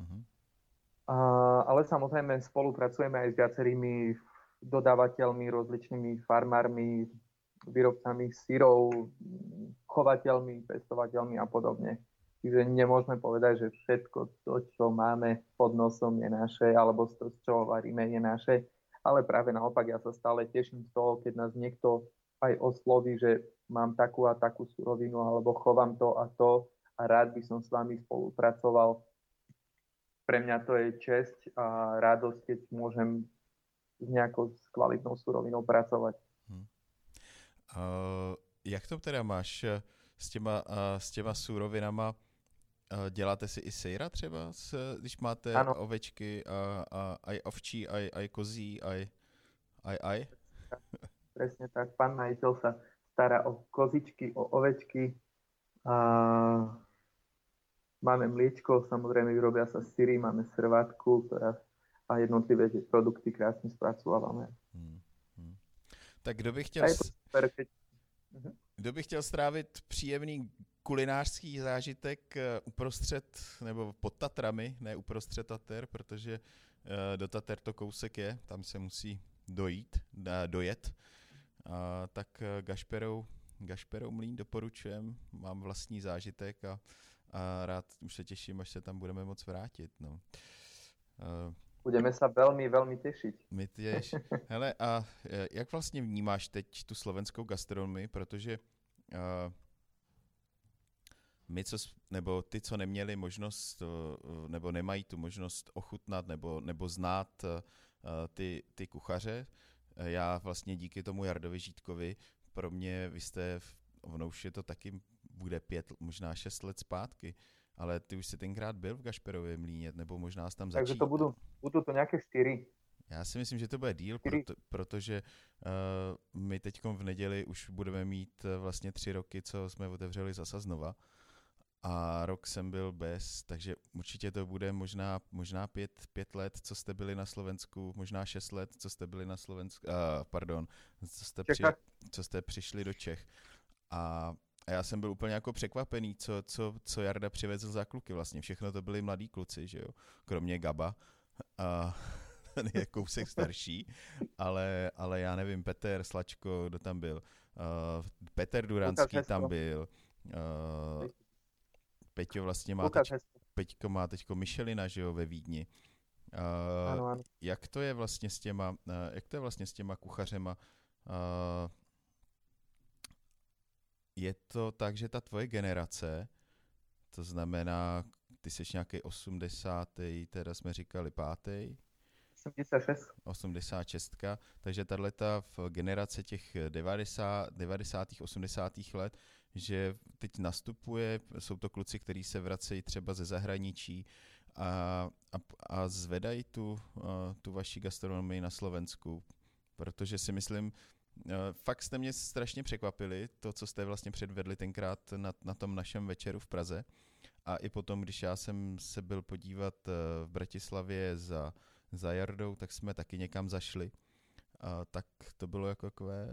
B: Ale samozrejme spolupracujeme aj s viacerými dodávateľmi, rozličnými farmármi, výrobcami syrov, chovateľmi, pestovateľmi a podobne. Čiže nemôžeme povedať, že všetko to, čo máme pod nosom je naše, alebo z čoho varíme je naše. Ale práve naopak, ja sa stále teším z toho, keď nás niekto aj osloví, že mám takú a takú surovinu, alebo chovám to a rád by som s vami spolupracoval. Pre mňa to je česť a radosť, keď môžem s nejakou kvalitnou surovinou pracovať.
A: Jak to teda máš s těma surovinama? Děláte si i sejra třeba, když máte
B: Áno,
A: ovečky a aj ovčí, aj kozí, aj?
B: presne tak. Pán majiteľ sa stará o kozičky, o ovečky a máme mliečko, samozrejme vyrobia sa syry, máme srvátku, ktorá a jednotlivé tie produkty krásne spracovávame.
A: Hmm, hmm. Tak
B: A je to super, keď...
A: kdo by chtěl strávit příjemný kulinářský zážitek uprostřed nebo pod Tatrami, ne uprostřed Tater, protože do Tater to kousek je, tam se musí dojet, tak Gašperov mlýn doporučujem, mám vlastní zážitek a rád už se těším, až se tam budeme moc vrátit. No.
B: Budeme sa veľmi, veľmi tešiť.
A: My tiež. Hele, a jak vlastně vnímáš teď tu slovenskou gastronomii, protože my, nebo ty, co neměli možnost, nebo nemají tu možnost ochutnat nebo znát ty kuchaře, já vlastně díky tomu Jardovi Žítkovi, pro mě, vy jste, ono už je to taky, bude 5, možná 6 let zpátky, ale ty už jsi tenkrát byl v Gašperově mlýně, nebo možná jsi tam začít.
B: Takže to budú to nejaké 4.
A: Já si myslím, že to bude díl, protože my teď v neděli už budeme mít vlastně 3 roky, co jsme otevřeli zasa znova. A rok jsem byl bez, takže určitě to bude možná 5 let, co jste byli na Slovensku, možná 6 let, co jste byli na Slovensku, co jste přišli do Čech. A já jsem byl úplně jako překvapený, co Jarda přivezl za kluky vlastně. Všechno to byli mladí kluci, že jo, kromě Gaba. A ten je kousek starší, ale já nevím, Peter Slačko, kdo tam byl, Petr Duranský tam byl, Peťo vlastně Peťko má teďko Michelina, že jo, ve Vídni.
B: Ano.
A: Jak to je vlastně s těma kuchařema? Je to tak, že ta tvoje generace, to znamená, ty jsi nějaký 80. teda jsme říkali 5. 86. Takže tato v generace těch 90. 80. let, že teď nastupuje, jsou to kluci, kteří se vracejí třeba ze zahraničí a zvedají tu vaši gastronomii na Slovensku, protože si myslím, fakt jste mě strašně překvapili, to, co jste vlastně předvedli tenkrát na tom našem večeru v Praze. A i potom, když já jsem se byl podívat v Bratislavě za Jardou, tak jsme taky někam zašli. Tak to bylo jako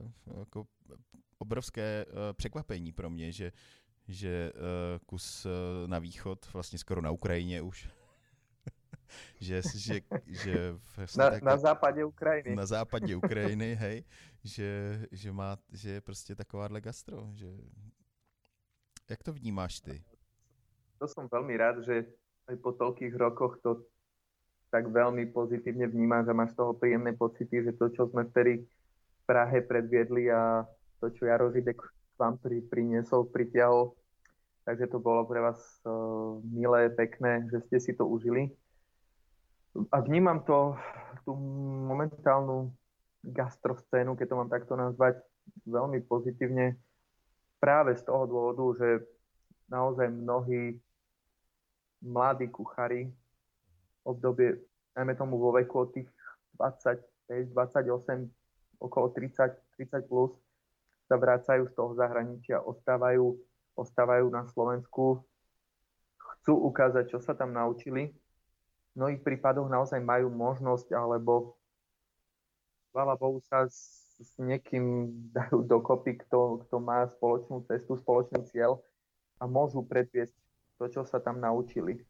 A: obrovské překvapení pro mě, že kus na východ, vlastně skoro na Ukrajině už, že
B: na západě Ukrajiny.
A: Na západě Ukrajiny, hej, že je prostě takováhle gastro. Jak to vnímáš ty?
B: To som veľmi rád, že aj po toľkých rokoch to tak veľmi pozitívne vnímam, že máš z toho príjemné pocity, že to, čo sme vtedy v Prahe predviedli a to, čo Jaro Židek k vám priniesol, pritiahol, takže to bolo pre vás milé, pekné, že ste si to užili. A vnímam tú momentálnu gastroscénu, keď to mám takto nazvať, veľmi pozitívne práve z toho dôvodu, že naozaj mnohí mladí kuchári v obdobie, najmä tomu vo veku od tých 25, 28, okolo 30 plus, sa vracajú z toho zahraničia, ostávajú na Slovensku, chcú ukázať, čo sa tam naučili. V mnohých prípadoch naozaj majú možnosť, alebo chvála Bohu sa s niekým dajú dokopy, kto má spoločnú cestu, spoločný cieľ a môžu predviesť to, čo sa tam naučili.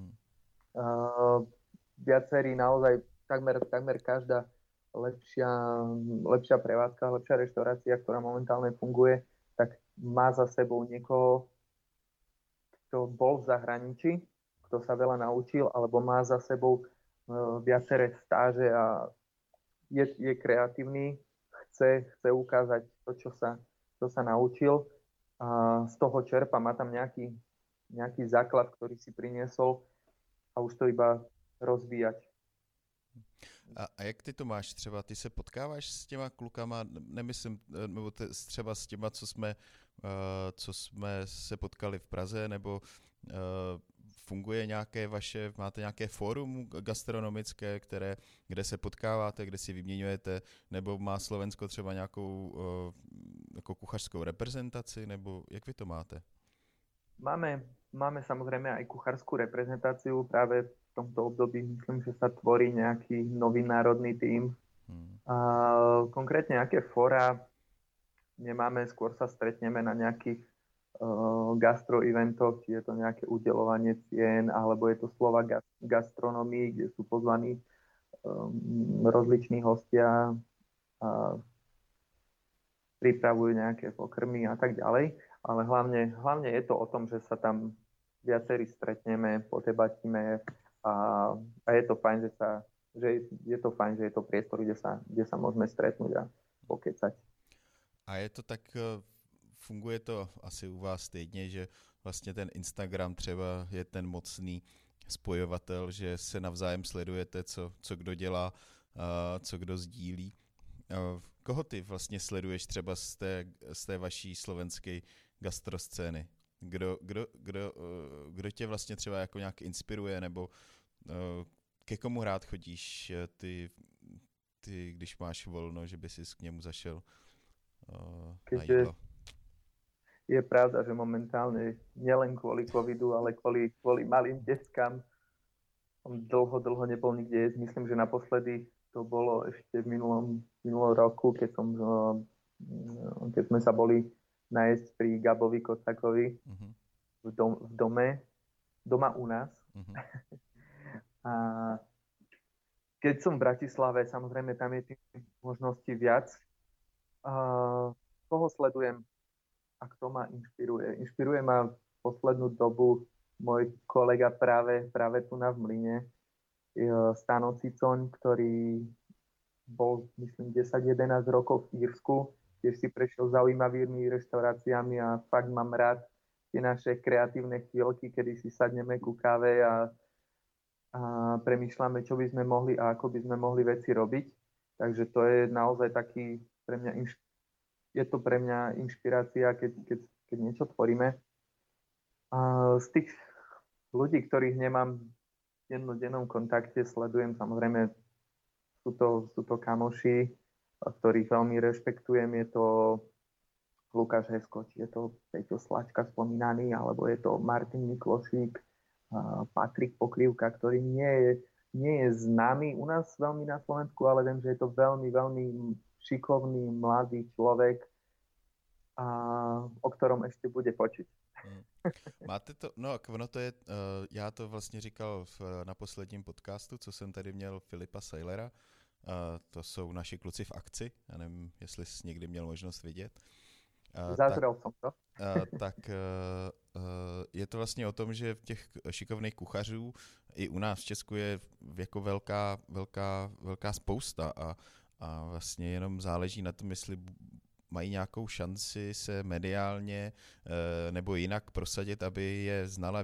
B: Viacerí naozaj, takmer každá lepšia prevádzka, lepšia reštaurácia, ktorá momentálne funguje, tak má za sebou niekoho, kto bol v zahraničí, kto sa veľa naučil, alebo má za sebou viaceré stáže a je kreatívny, chce ukázať to, čo sa naučil a z toho čerpa, má tam nejaký základ, ktorý si priniesol a už to iba rozvíjať.
A: A jak ty to máš třeba? Ty se potkáváš s těma klukama, nemyslím, nebo třeba s těma, co jsme se potkali v Praze, nebo funguje máte nějaké fórum gastronomické, kde se potkáváte, kde si vyměňujete, nebo má Slovensko třeba nějakou jako kuchařskou reprezentaci, nebo jak vy to máte?
B: Máme samozrejme aj kuchárskú reprezentáciu. Práve v tomto období myslím, že sa tvorí nejaký nový národný tím. Konkrétne aké fóra nemáme, skôr sa stretneme na nejakých gastro-eventoch, či je to nejaké udeľovanie cien, alebo je to slova gastronomii, kde sú pozvaní rozliční hostia a pripravujú nejaké pokrmy a tak ďalej. Ale hlavne je to o tom, že sa tam viacerí stretneme, podebatíme a je to fajn, že je to priestor, kde sa môžeme stretnúť a pokecať.
A: A je to tak, funguje to asi u vás stejně, že vlastně ten Instagram třeba je ten mocný spojovatel, že se navzájem sledujete, co kdo dělá, co kdo sdílí. Koho ty vlastně sleduješ třeba z té vaší slovenské gastroscény? Kdo tě vlastně třeba jako nějak inspiruje, nebo ke komu rád chodíš ty, když máš volno, že by si k němu zašel na jídlo?
B: Je pravda, že momentálne nielen kvôli covidu, ale kvôli malým deckám dlho nebol nikde jesť. Myslím, že naposledy to bolo ešte v minulom roku, keď sme sa boli najesť pri Gabovi Kocakovi v doma u nás. A keď som v Bratislave, samozrejme tam je tých možností viac. Koho sledujem a kto ma inšpiruje? Inšpiruje ma poslednú dobu môj kolega práve tu na v Mlyne, Stano Cicoň, ktorý bol, myslím, 10-11 rokov v Írsku. Tiež si prešiel zaujímavými reštauráciami a fakt mám rád tie naše kreatívne chvíľky, kedy si sadneme ku káve a premýšľame, čo by sme mohli a ako by sme mohli veci robiť. Takže to je naozaj taký pre mňa je to pre mňa inšpirácia, keď niečo tvoríme. A z tých ľudí, ktorých nemám v dennom kontakte, sledujem, samozrejme, sú to kamoši, ktorých veľmi rešpektujem. Je to Lukáš Hesko, či je to Peťo Slačka spomínaný, alebo je to Martin Miklošík, Patrik Pokrývka, ktorý nie je známy u nás veľmi na Slovensku, ale viem, že je to veľmi, veľmi šikovný, mladý človek, o ktorom ešte bude počuť.
A: Máte to, no ono to je, já to vlastně říkal na posledním podcastu, co jsem tady měl Filipa Sailera, to jsou naši kluci v akci, já nevím, jestli jsi někdy měl možnost vidět.
B: Zazrel som to.
A: Tak je to vlastně o tom, že těch šikovných kuchařů i u nás v Česku je jako velká spousta a vlastně jenom záleží na tom, jestli mají nějakou šanci se mediálně nebo jinak prosadit, aby je znala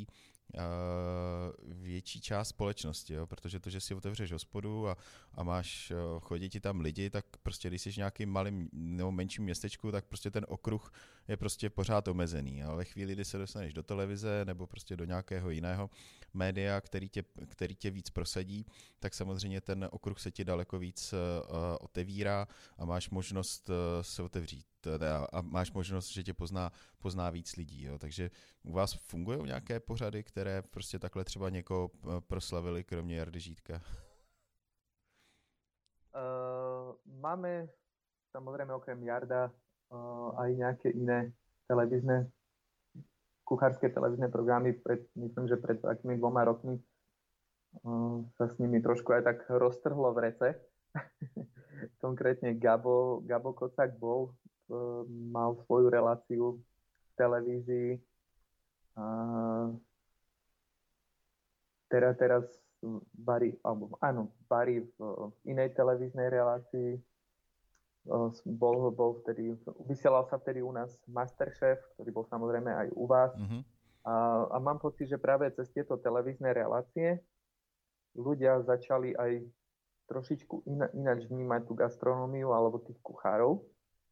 A: větší část společnosti, jo? Protože to, že si otevřeš hospodu a máš, chodí ti tam lidi, tak prostě když jsi v nějakým malým nebo menším městečku, tak prostě ten okruh je prostě pořád omezený. Ale ve chvíli, kdy se dostaneš do televize nebo prostě do nějakého jiného média, který tě víc prosadí, tak samozřejmě ten okruh se ti daleko víc otevírá a máš možnost se otevřít a máš možnost, že tě pozná víc lidí. Jo. Takže u vás fungují nějaké pořady, které prostě takhle třeba někoho proslavili, kromě Jardy Žídka?
B: Máme samozrejme okrem Jarda aj nejaké iné kuchárske televízne programy. Myslím, že pred takými 2 rokmi sa s nimi trošku aj tak roztrhlo v rece. Konkrétne Gabo Kocak mal svoju reláciu v televízii. Teraz varí v inej televíznej relácii. Vysielal sa vtedy u nás Masterchef, ktorý bol samozrejme aj u vás. Mm-hmm. A mám pocit, že práve cez tieto televízne relácie ľudia začali aj trošičku ináč vnímať tú gastronómiu alebo tých kuchárov.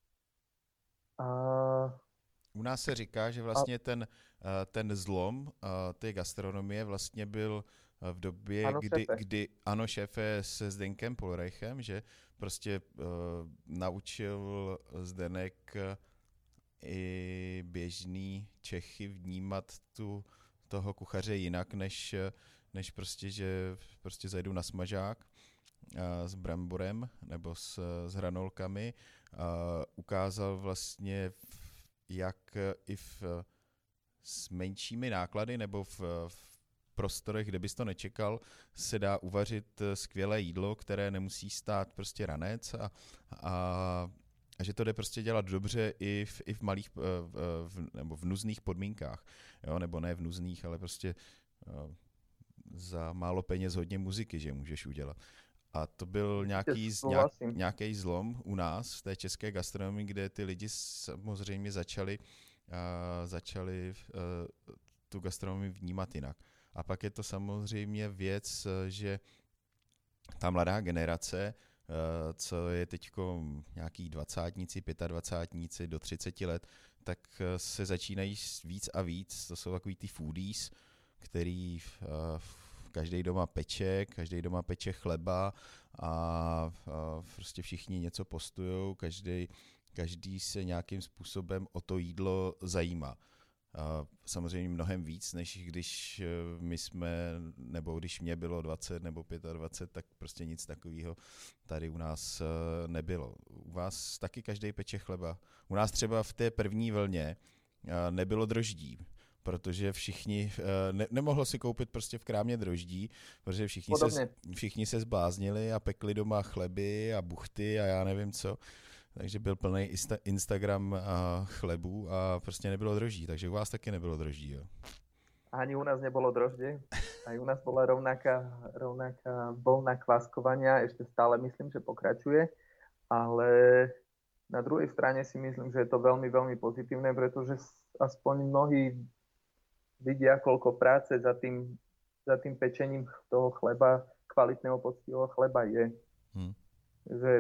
A: U nás se říká, že vlastně ten zlom té gastronomie vlastně byl v době, kdy ano, šéfe se Zdenkem Polreichem, že prostě naučil Zdenek i běžný Čechy vnímat toho kuchaře jinak, než prostě, že prostě zajdu na smažák s bramborem nebo s hranolkami. Ukázal vlastně, jak i s menšími náklady nebo v prostorech, kde bys to nečekal, se dá uvařit skvělé jídlo, které nemusí stát prostě ranec a že to jde prostě dělat dobře i v malých nebo v nuzných podmínkách. Jo? Nebo ne v nuzných, ale prostě za málo peněz hodně muziky, že můžeš udělat. A to byl nějaký zlom u nás v té české gastronomii, kde ty lidi samozřejmě začali tu gastronomii vnímat jinak. A pak je to samozřejmě věc, že ta mladá generace, co je teď nějaký 20-tníci, 25-tníci do 30 let, tak se začínají víc a víc. To jsou takový ty foodies, který každý doma peče chleba a prostě všichni něco postujou, každý se nějakým způsobem o to jídlo zajímá. Samozřejmě mnohem víc, než když když mě bylo 20 nebo 25, tak prostě nic takového tady u nás nebylo. U vás taky každý peče chleba. U nás třeba v té první vlně nebylo droždí, protože všichni, nemohlo si koupit prostě v krámě droždí, protože všichni se zbláznili a pekli doma chleby a buchty a já nevím co. Takže byl plný Instagram chlebů a prostě nebylo droždí, takže u vás taky nebylo droždí, jo?
B: Ani u nás nebolo droždie, aj u nás bola rovnaká vlna kváskovania, ešte stále myslím, že pokračuje, ale na druhej strane si myslím, že je to veľmi, veľmi pozitívne, pretože aspoň mnohí vidia, koľko práce za tým pečením toho chleba, kvalitného poctivého chleba je. Že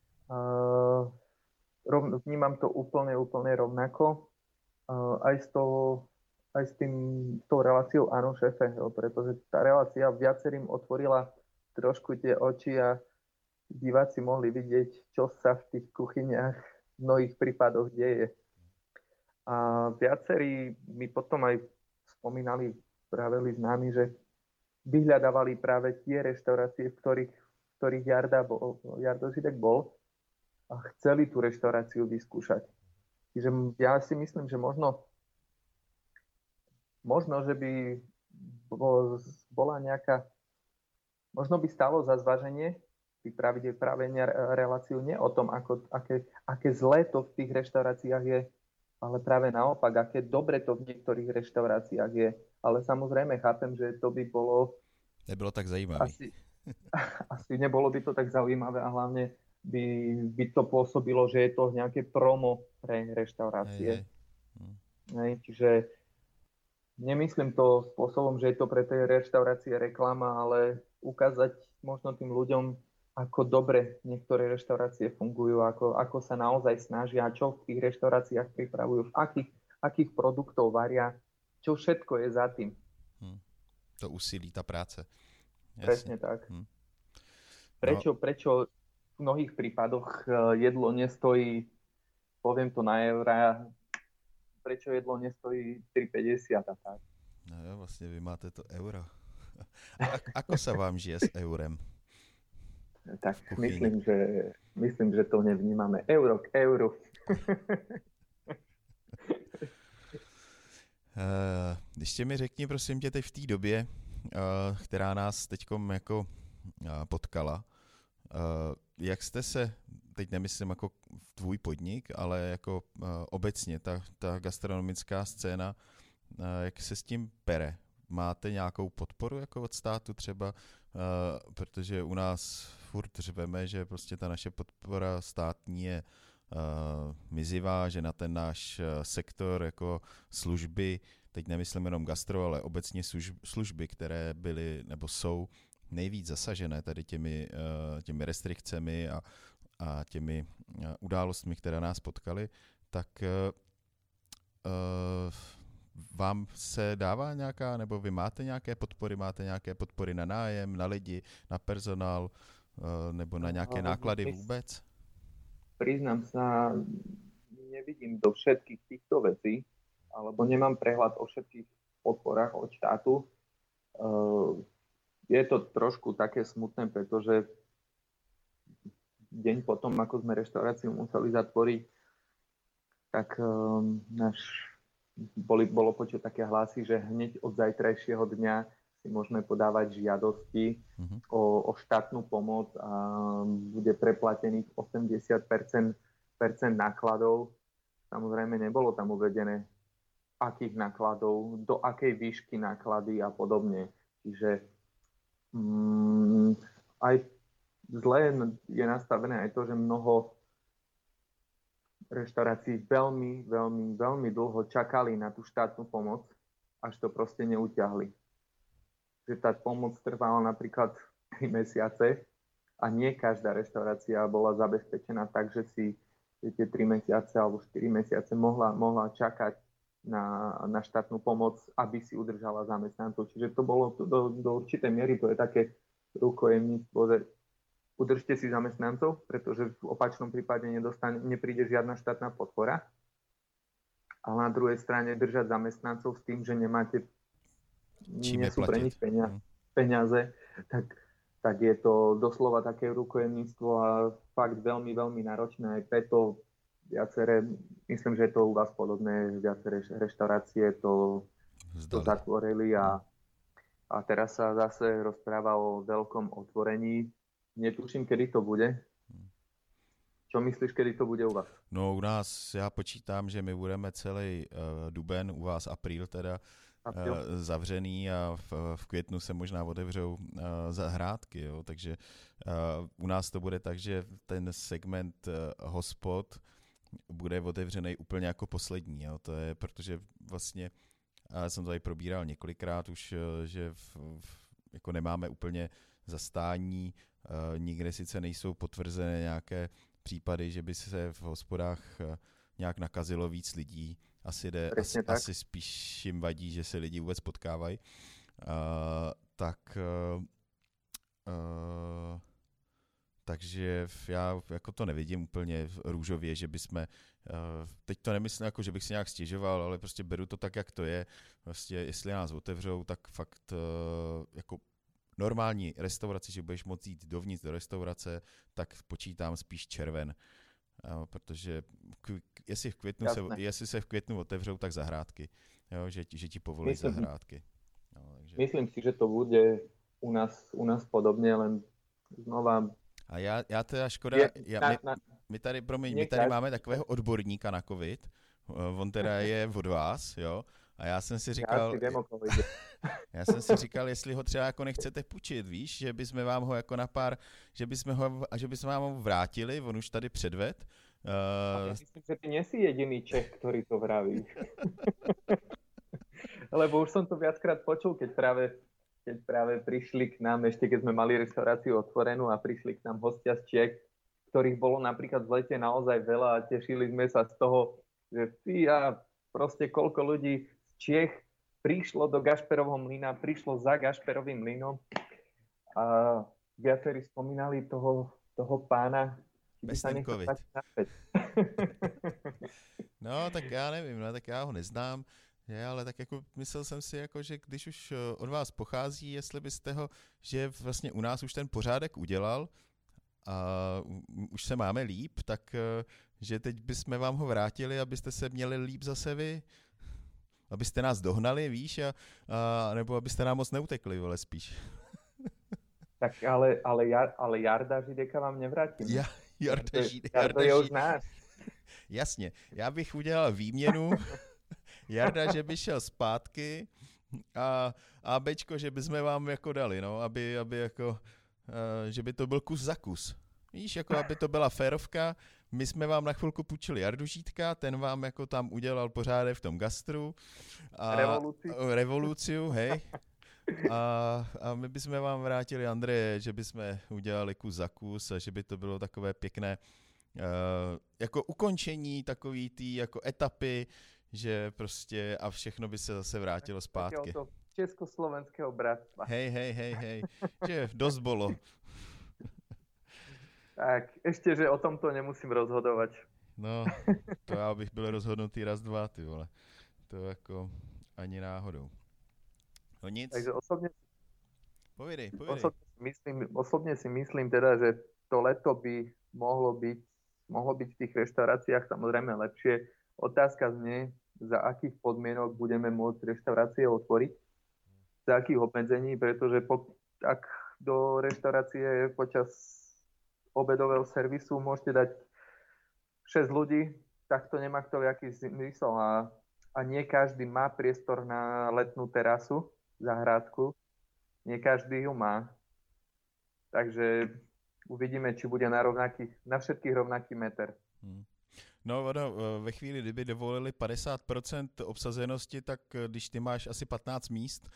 B: vnímam to úplne rovnako. Aj s tou reláciou Áno, šéfe, pretože tá relácia viacerým otvorila trošku tie oči a diváci mohli vidieť, čo sa v tých kuchyniach v mnohých prípadoch deje. A viacerí mi potom aj spomínali, vraveli s nami, že vyhľadávali práve tie reštaurácie, v ktorých Jardo Židek bol, a chceli tú reštauráciu vyskúšať. Čiže ja si myslím, že možno, že by bola nejaká, možno by stalo za zváženie vypraviť práve reláciu nie o tom, aké zlé to v tých reštauráciách je, ale práve naopak, aké dobre to v niektorých reštauráciách je. Ale samozrejme chápem, že to by bolo...
A: Nebylo tak zajímavé.
B: Asi nebolo by to tak zaujímavé a hlavne by to pôsobilo, že je to nejaké promo pre reštaurácie. Čiže nemyslím to spôsobom, že je to pre tej reštaurácie reklama, ale ukázať možno tým ľuďom, ako dobre niektoré reštaurácie fungujú, ako sa naozaj snažia, čo v tých reštauráciách pripravujú, akých produktov varia, čo všetko je za tým.
A: To úsilí, tá práca.
B: Presne tak. Prečo v mnohých prípadoch jedlo nestojí, poviem to na eurá, prečo jedlo nestojí 3,50 a tak.
A: No jo, vlastne vy máte to euro. Ako sa vám žije s eurem?
B: Tak myslím, že to nevnímame. Euro k euru.
A: Ještě mi řekni, prosím tě, teď v té době, která nás teďkom jako potkala, jak jste se, teď nemyslím jako tvůj podnik, ale jako obecně ta gastronomická scéna, jak se s tím pere? Máte nějakou podporu jako od státu třeba? Protože u nás furt řveme, že prostě ta naše podpora státní je mizivá, že na ten náš sektor jako služby, teď nemyslím jenom gastro, ale obecně služby, které byly nebo jsou nejvíc zasažené tady těmi restrikcemi a těmi událostmi, které nás potkaly, tak vám se dává nějaká, nebo vy máte nějaké podpory na nájem, na lidi, na personál, nebo na nějaké náklady vůbec?
B: Priznám sa, nevidím do všetkých týchto vecí, alebo nemám prehľad o všetkých podporách od štátu. Je to trošku také smutné, pretože deň potom, ako sme reštauráciu museli zatvoriť, tak bolo počuť také hlasy, že hneď od zajtrajšieho dňa si môžeme podávať žiadosti o štátnu pomoc a bude preplatených 80% nákladov. Samozrejme nebolo tam uvedené, akých nákladov, do akej výšky náklady a podobne. Čiže aj zle je nastavené aj to, že mnoho reštaurácií veľmi, veľmi, veľmi dlho čakali na tú štátnu pomoc, až to proste neutiahli. Že tá pomoc trvala napríklad 3 mesiace a nie každá reštaurácia bola zabezpečená tak, že si tie 3 mesiace alebo 4 mesiace mohla čakať na štátnu pomoc, aby si udržala zamestnancov. Čiže to bolo do určitej miery, to je také rukojemníctvo, že udržte si zamestnancov, pretože v opačnom prípade nepríde žiadna štátna podpora. Ale na druhej strane držať zamestnancov s tým, že nie sú pre nich peniaze, tak je to doslova také rukojemníctvo a fakt veľmi, veľmi náročné. Aj preto myslím, že je to u vás podobné, viaceré reštaurácie to zatvorili a teraz sa zase rozpráva o veľkom otvorení. Netuším, kedy to bude. Čo myslíš, kedy to bude u vás?
A: No u nás, já počítám, že my budeme celý duben, u vás apríl teda, zavřený a v květnu se možná otevřou zahrádky, jo? Takže u nás to bude tak, že ten segment hospod bude otevřený úplně jako poslední. Jo? To je, protože vlastně jsem to tady probíral několikrát už, že jako nemáme úplně zastání, nikde sice nejsou potvrzené nějaké případy, že by se v hospodách nějak nakazilo víc lidí. Asi spíš jim vadí, že se lidi vůbec potkávají. Takže já jako to nevidím úplně růžově, že bychom, teď to nemyslím jako, že bych si nějak stěžoval, ale prostě beru to tak, jak to je. Prostě jestli nás otevřou, tak fakt jako normální restauraci, že budeš moct jít dovnitř do restaurace, tak počítám spíš červen. Protože jestli se v květnu otevřou, tak zahrádky. Jo, že ti povolí zahrádky. No, takže.
B: Myslím si, že to bude u nás podobně, len znova.
A: A já teda škoda, my tady máme takového odborníka na covid, on teda je od vás, jo, a já jsem si říkal, jestli ho třeba jako nechcete půjčit, víš, že bychom vám ho jako že bychom vám ho vrátili, on už tady předved.
B: Ja myslím, že ty nie si jediný Čech, ktorý to vraví. Lebo už som to viackrát počul, keď práve prišli k nám, ešte keď sme mali reštauráciu otvorenú a prišli k nám hostia z Čiech, ktorých bolo napríklad v lete naozaj veľa a tešili sme sa z toho, že proste koľko ľudí z Čiech prišlo do Gašperovho mlyna, prišlo za Gašperovým mlynom a viacerí spomínali toho pána,
A: Besnenkovič. No, tak já nevím, no, tak já ho neznám, ale tak jako myslel jsem si, jako, že když už od vás pochází, jestli byste ho, že vlastně u nás už ten pořádek udělal a už se máme líp, tak že teď bychom vám ho vrátili, abyste se měli líp zase vy, abyste nás dohnali, víš, a nebo abyste nám moc neutekli, vole, spíš.
B: Tak ale Jarda Žideka vám nevrátím.
A: Jarda
B: je už náš.
A: Jasně, já bych udělal výměnu, Jarda, že by šel zpátky a Bečko, že bychom vám jako dali, no, aby jako, že by to byl kus za kus. Víš, jako aby to byla férovka, my jsme vám na chvilku půjčili Jardu Žítka, ten vám jako tam udělal pořádek v tom gastru.
B: A revoluciu,
A: hej. A my bychom vám vrátili, Andreje, že bychom udělali kus za kus a že by to bylo takové pěkné jako ukončení takový tý jako etapy, že prostě a všechno by se zase vrátilo zpátky.
B: Takéhoto československého bratstva.
A: Hej, že dost bolo.
B: Tak, ešte, že o tomto nemusím rozhodovať.
A: No, to já bych byl rozhodnutý raz, dva, ty vole. To jako ani náhodou. No nic.
B: Takže osobne
A: Povědej.
B: Osobne si myslím teda, že to leto by mohlo byť v tých reštauráciách samozrejme lepšie. Otázka znie, za akých podmienok budeme môcť reštaurácie otvoriť, za akých obmedzení, pretože ak do reštaurácie počas obedového servisu môžete dať 6 ľudí, tak to nemá kto jaký zmysel a nie každý má priestor na letnú terasu, zahrádku. Nie každý ju má. Takže uvidíme, či bude na všetkých rovnaký meter.
A: No, ve chvíli, kdyby dovolili 50% obsazenosti, tak když ty máš asi 15 míst.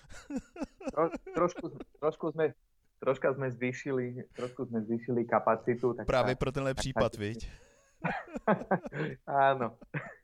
B: Troška sme zvýšili kapacitu. Tak
A: právě pro tenhle případ, viď?
B: Áno.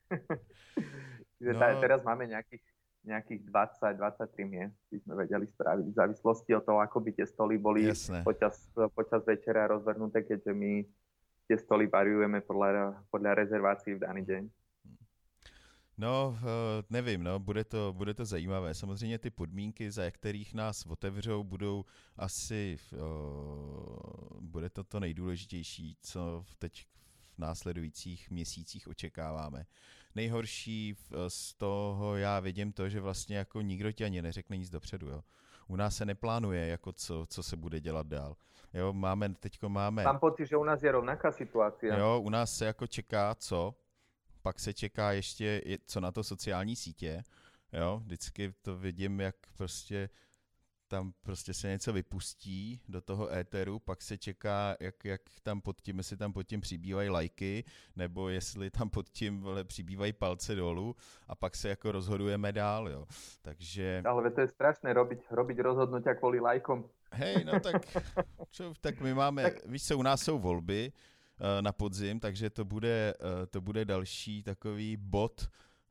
B: Teraz máme nejakých 20-23 miest, by sme vedeli spraviť v závislosti od toho, ako by tie stoly boli počas večera rozvrhnuté, keďže my tie stoly variujeme podľa rezervácií v daný deň.
A: No, nevím, no, bude to zajímavé. Samozřejmě ty podmínky, za kterých nás otevřou, budou asi, bude to nejdůležitější, co teď v následujících měsících očekáváme. Nejhorší z toho já vidím to, že vlastně jako nikdo ti ani neřekne nic dopředu, jo. U nás se neplánuje, jako co se bude dělat dál. Jo, máme.
B: Mám pocit, že u nás je rovnaká situácia.
A: Jo, u nás se jako čeká co? Pak se čeká ještě co na to sociální sítě, jo, vždycky to vidím, jak prostě tam prostě se něco vypustí do toho éteru, pak se čeká, jak tam pod tím, jestli tam pod tím přibývají lajky, nebo jestli tam pod tím přibývají palce dolů a pak se jako rozhodujeme dál, jo, takže...
B: Ale to je strašné robiť rozhodnutia kvôli lajkom.
A: Hej, no tak my máme, víš co, u nás jsou volby na podzim, takže to bude další takový bod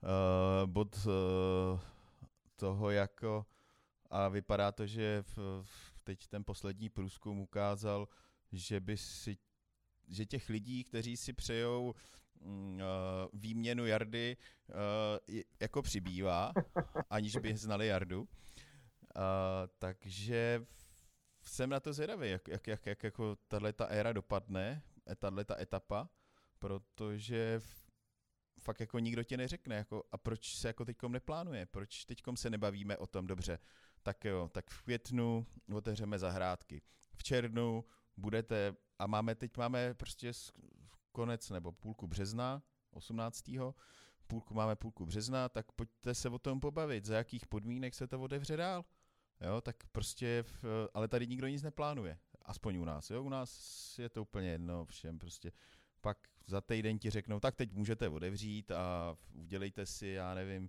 A: toho jako a vypadá to, že teď ten poslední průzkum ukázal, že těch lidí, kteří si přejou výměnu Jardy, jako přibývá, aniž by znali Jardu. Takže jsem na to zvědavý, jak jako tato éra dopadne, tato etapa, protože fakt jako nikdo ti neřekne, jako, a proč se jako teďkom neplánuje, proč teďkom se nebavíme o tom, dobře, tak jo, tak v květnu otevřeme zahrádky, v červnu budete, a teď máme prostě konec nebo půlku března, 18. Půlku března, tak pojďte se o tom pobavit, za jakých podmínek se to otevře dál. Jo, tak prostě, ale tady nikdo nic neplánuje, aspoň u nás, jo, u nás je to úplně jedno všem, prostě pak za týden ti řeknou, tak teď můžete otevřít a udělejte si, já nevím,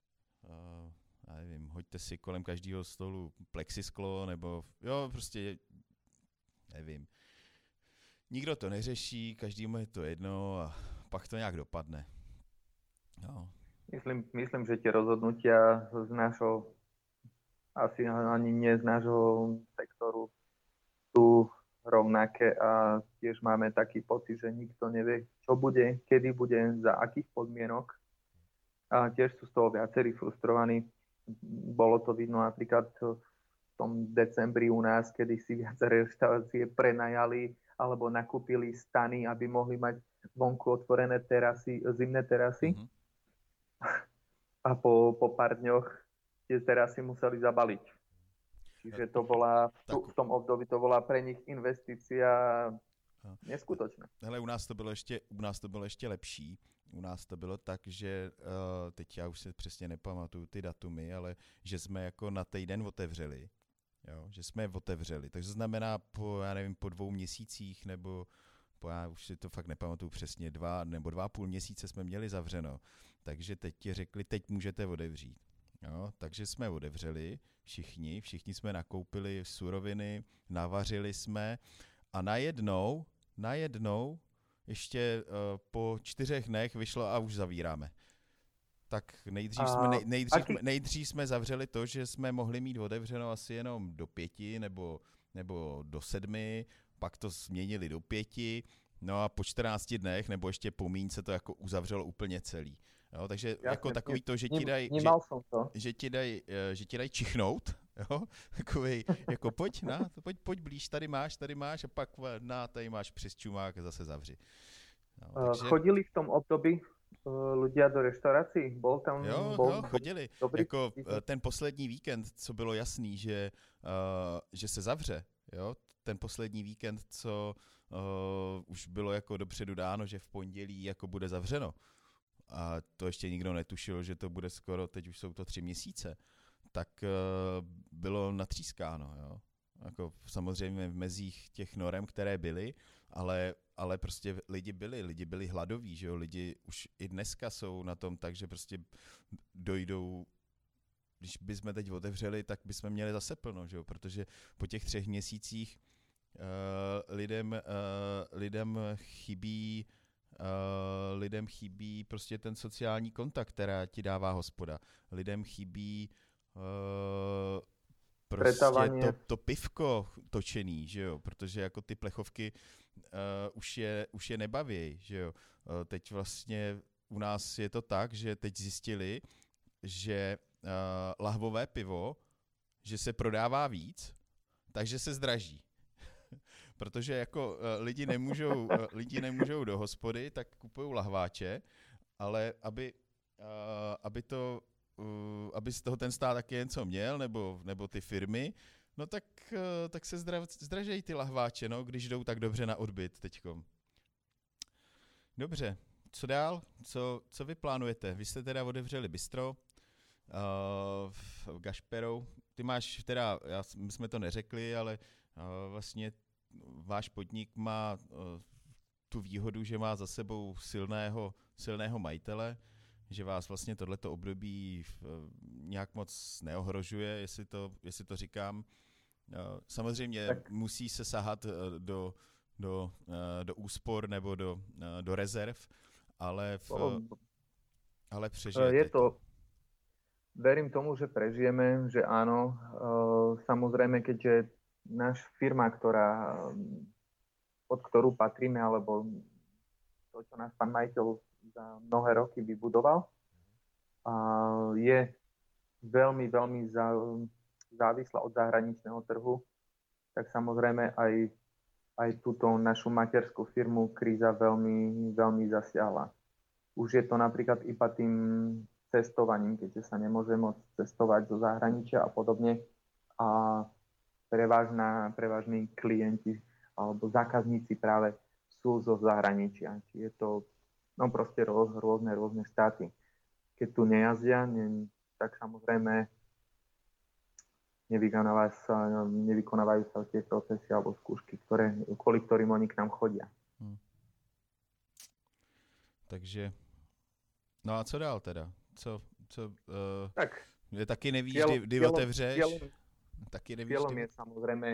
A: hoďte si kolem každého stolu plexisklo, nebo jo, prostě, nevím. Nikdo to neřeší, každému je to jedno a pak to nějak dopadne. No.
B: Myslím, že tie rozhodnutia z nášho asi ani nie z nášho sektoru sú rovnaké a tiež máme taký pocit, že nikto nevie, čo bude, kedy bude, za akých podmienok. A tiež sú z toho viacerí frustrovaní. Bolo to vidno napríklad v tom decembri u nás, kedy si viaceré reštaurácie prenajali alebo nakúpili stany, aby mohli mať vonku otvorené terasy, zimné terasy. Mm-hmm. A po pár dňoch tie terasy museli zabaliť. Čiže to bola, v tom období to bola pre nich investícia neskutočná.
A: Hele, u nás to bylo ještě lepší. U nás to bylo tak, že teď já už se přesně nepamatuju ty datumy, ale že jsme jako na týden otevřeli. Jo, že jsme je otevřeli. Takže to znamená po 2 měsících nebo já už si to fakt nepamatuju přesně, 2 nebo 2,5 měsíce jsme měli zavřeno. Takže teď ti řekli, teď můžete otevřít. Jo, takže jsme otevřeli všichni jsme nakoupili suroviny, navařili jsme a najednou ještě po 4 dnech vyšlo a už zavíráme. Tak nejdřív jsme zavřeli to, že jsme mohli mít otevřeno asi jenom do 5 nebo do 7, pak to změnili do 5, no a po 14 dnech nebo ještě po míň se to jako uzavřelo úplně celý. Jo, takže jasně, jako takový to, že ti dají čichnout, jo, takovej, jako pojď blíž, tady máš a pak tady máš přes čumák a zase zavři.
B: No, takže... Chodili v tom období ľudia do reštaurácií? Bol tam?
A: Jo, chodili. Jako ten poslední víkend, co bylo jasný, že se zavře, jo, ten poslední víkend, co už bylo jako dopředu dáno, že v pondělí jako bude zavřeno. A to ještě nikdo netušil, že to bude skoro, teď už jsou to 3 měsíce, tak bylo natřískáno, jo. Jako samozřejmě v mezích těch norem, které byly, ale prostě lidi byli hladoví, že jo, lidi už i dneska jsou na tom tak, že prostě dojdou, když bychom teď otevřeli, tak bychom měli zase plno, že jo, protože po těch 3 měsících lidem chybí prostě ten sociální kontakt, která ti dává hospoda. Lidem chybí prostě to pivko točený, že jo, protože jako ty plechovky už je nebaví, že jo. Teď vlastně u nás je to tak, že teď zjistili, že lahvové pivo, že se prodává víc, takže se zdraží. Protože jako lidi nemůžou do hospody, tak kupují lahváče, ale aby z toho ten stát taky něco měl, nebo ty firmy, no tak se zdražejí ty lahváče, no, když jdou tak dobře na odbyt teďkom. Dobře, co dál? Co vy plánujete? Vy jste teda otevřeli bistro v Gašperou. Ty máš teda, my jsme to neřekli, ale vlastně váš podnik má tu výhodu, že má za sebou silného majitele, že vás vlastně tohleto období nějak moc neohrožuje, jestli to říkám. Samozřejmě tak. Musí se sahat do úspor nebo do rezerv, ale přežijete.
B: Je to, verím tomu, že prežijeme, že áno. Samozrejme, keďže náš firma, pod ktorú patríme, alebo to, čo náš pán majiteľ za mnohé roky vybudoval, je veľmi, veľmi závislá od zahraničného trhu, tak samozrejme aj túto našu materskú firmu kríza veľmi, veľmi zasiahla. Už je to napríklad iba tým cestovaním, keďže sa nemôže môcť cestovať do zahraničia a podobne. A prevažní klienti alebo zákazníci práve sú zo zahraničia. Či je to proste rôzne štáty. Keď tu nejazdia, tak samozrejme nevykonávajú sa tie procesy alebo skúšky, kvôli ktorým oni k nám chodia.
A: Takže, no a co dál teda?
B: Tak,
A: taky nevíš, kdy otevřeš?
B: Cieľom je samozrejme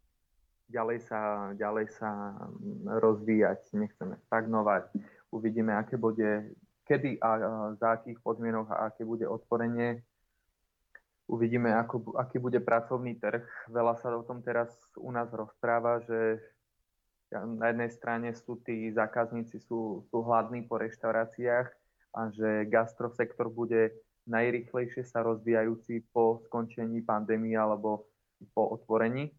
B: ďalej sa rozvíjať, nechceme stagnovať. Uvidíme, aké bude, kedy a za akých podmienok a aké bude otvorenie. Uvidíme, aký bude pracovný trh. Veľa sa o tom teraz u nás rozpráva, že na jednej strane sú tí zákazníci sú hladní po reštauráciách a že gastrosektor bude najrýchlejšie sa rozvíjajúci po skončení pandémie alebo po otvorení.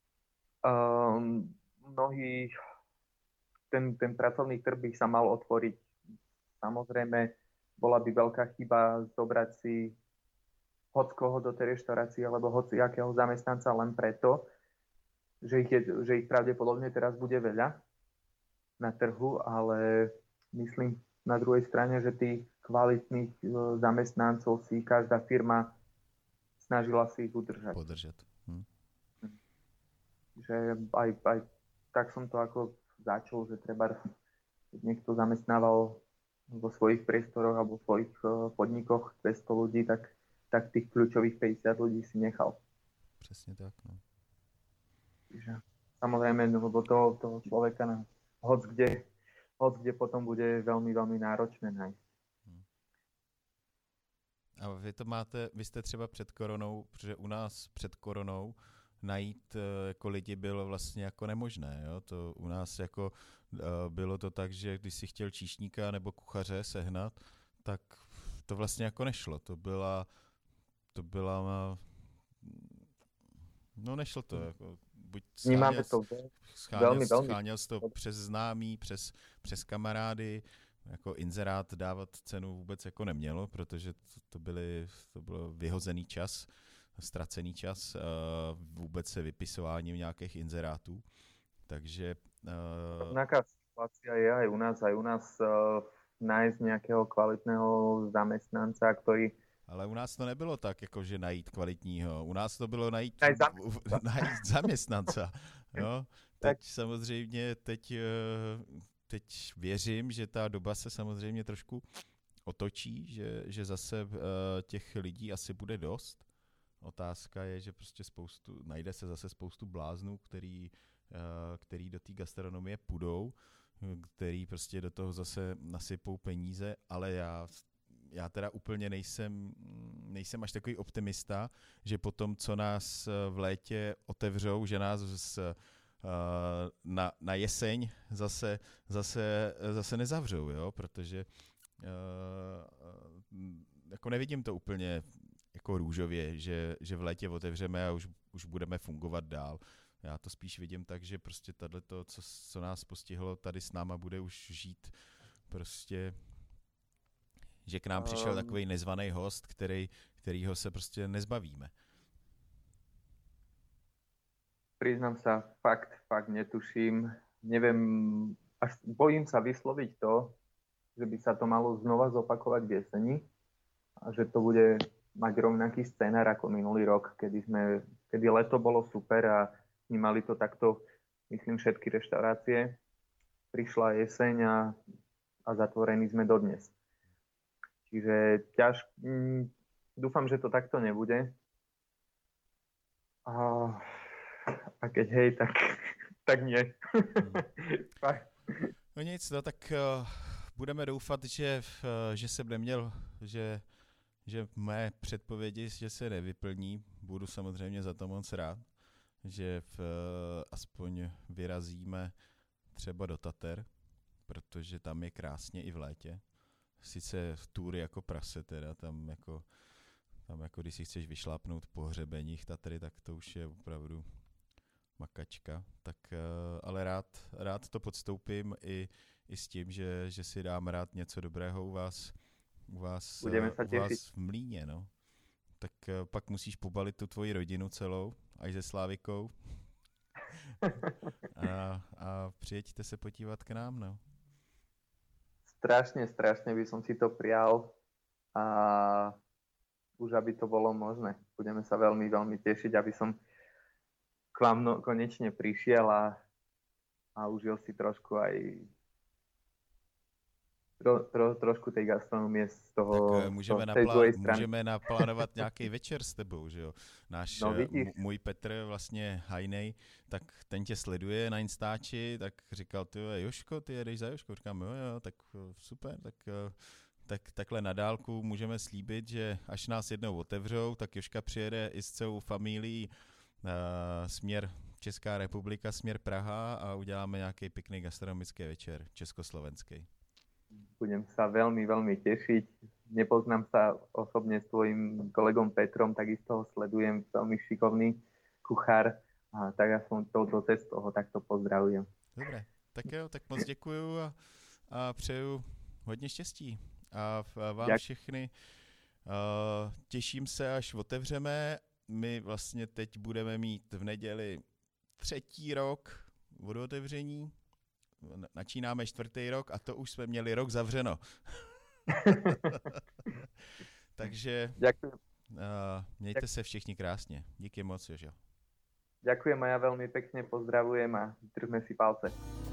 B: Ten pracovný trh by sa mal otvoriť. Samozrejme, bola by veľká chyba zobrať si hockoho do tej reštaurácie alebo hociakého zamestnanca len preto, že ich pravdepodobne teraz bude veľa na trhu, ale myslím na druhej strane, že tých kvalitných zamestnancov si každá firma snažila si ich udržať.
A: Podržať.
B: Že aj tak som to ako začal, že treba, keď niekto zamestnával vo svojich priestoroch alebo v svojich podnikoch 200 ľudí, tak tak tých kľúčových 50 ľudí si nechal.
A: Přesně tak, no.
B: Takže samozrejme, lebo toho človeka na hoc kde potom bude veľmi, veľmi náročné nájsť.
A: A vy jste třeba před koronou, protože u nás před koronou najít jako lidi bylo vlastně jako nemožné. Jo? To u nás jako bylo to tak, že když si chtěl číšníka nebo kuchaře sehnat, tak to vlastně jako nešlo. To byla no nešlo to. Jako, buď scháněl jsi to přes známý, přes kamarády, jako inzerát dávat cenu vůbec jako nemělo, protože to bylo vyhozený čas, ztracený čas, vůbec se vypisováním nějakých inzerátů. Takže...
B: Rovnaká situácia je aj u nás nájsť nejakého kvalitného zamestnanca, ktorý...
A: Ale u nás to nebylo tak, jako že najít kvalitního. U nás to bylo najít zaměstnanca. Jo? Teď samozřejmě, teď věřím, že ta doba se samozřejmě trošku otočí, že zase těch lidí asi bude dost. Otázka je, že prostě najde se zase spoustu bláznů, který do té gastronomie půjdou, který prostě do toho zase nasypou peníze, ale já teda úplně nejsem až takový optimista, že potom, co nás v létě otevřou, že nás na jeseň zase nezavřou, jo? Protože jako nevidím to úplně jako růžově, že v létě otevřeme a už budeme fungovat dál. Já to spíš vidím tak, že prostě tato, co nás postihlo, tady s náma bude už žít prostě, že k nám přišel takový nezvaný host, kterýho se prostě nezbavíme.
B: Priznám sa, fakt netuším. Neviem, až bojím sa vysloviť to, že by sa to malo znova zopakovať v jeseni a že to bude mať rovnaký scénar ako minulý rok, kedy leto bolo super a vnímali to takto, myslím, všetky reštaurácie. Prišla jeseň a zatvorení sme dodnes. Čiže dúfam, že to takto nebude. A keď hej, tak nie.
A: No nic, no tak budeme doufat, že jsem neměl, že mé předpovědi, že se nevyplní. Budu samozřejmě za to moc rád, že aspoň vyrazíme třeba do Tater, protože tam je krásně i v létě. Sice v túry jako prase teda, tam jako když si chceš vyšlápnout po hřebeních Tatry, tak to už je opravdu makačka. Tak ale rád to podstoupím i s tím, že si dám rád něco dobrého u vás v Mlíně, no. Tak pak musíš pobalit tu tvoji rodinu celou, až se Slávikou. A přijeďte se podívat k nám, no.
B: Strašne by som si to prijal a už aby to bolo možné. Budeme sa veľmi, veľmi tešiť, aby som k vám konečne prišiel a užil si trošku aj trošku tej gastronomie z toho,
A: tak můžeme naplánovat nějaký večer s tebou, že jo. Můj Petr vlastně Hajnej, tak ten tě sleduje na Instači, tak říkal, ty Jožko, ty jedeš za Jožko, říkám, jo, tak super, tak takhle na dálku můžeme slíbit, že až nás jednou otevřou, tak Jožka přijede i s celou familií směr Česká republika, směr Praha a uděláme nějaký pěkný gastronomický večer československý.
B: Budem sa veľmi, veľmi tešiť. Nepoznám sa osobne s tvojim kolegom Petrom, takisto ho sledujem, veľmi šikovný kuchár, a tak aspoň touto cestou ho takto pozdravujem.
A: Dobre, tak jo, tak moc děkuju a přeju hodně štěstí. A vám všechny těším se, až otevřeme. My vlastně teď budeme mít v neděli 3. rok od otevření. Načínáme 4. rok a to už jsme měli rok zavřeno. Takže mějte se všichni krásně. Díky moc, Jožo.
B: Ďakujem a ja veľmi pekne pozdravujem a držme si palce.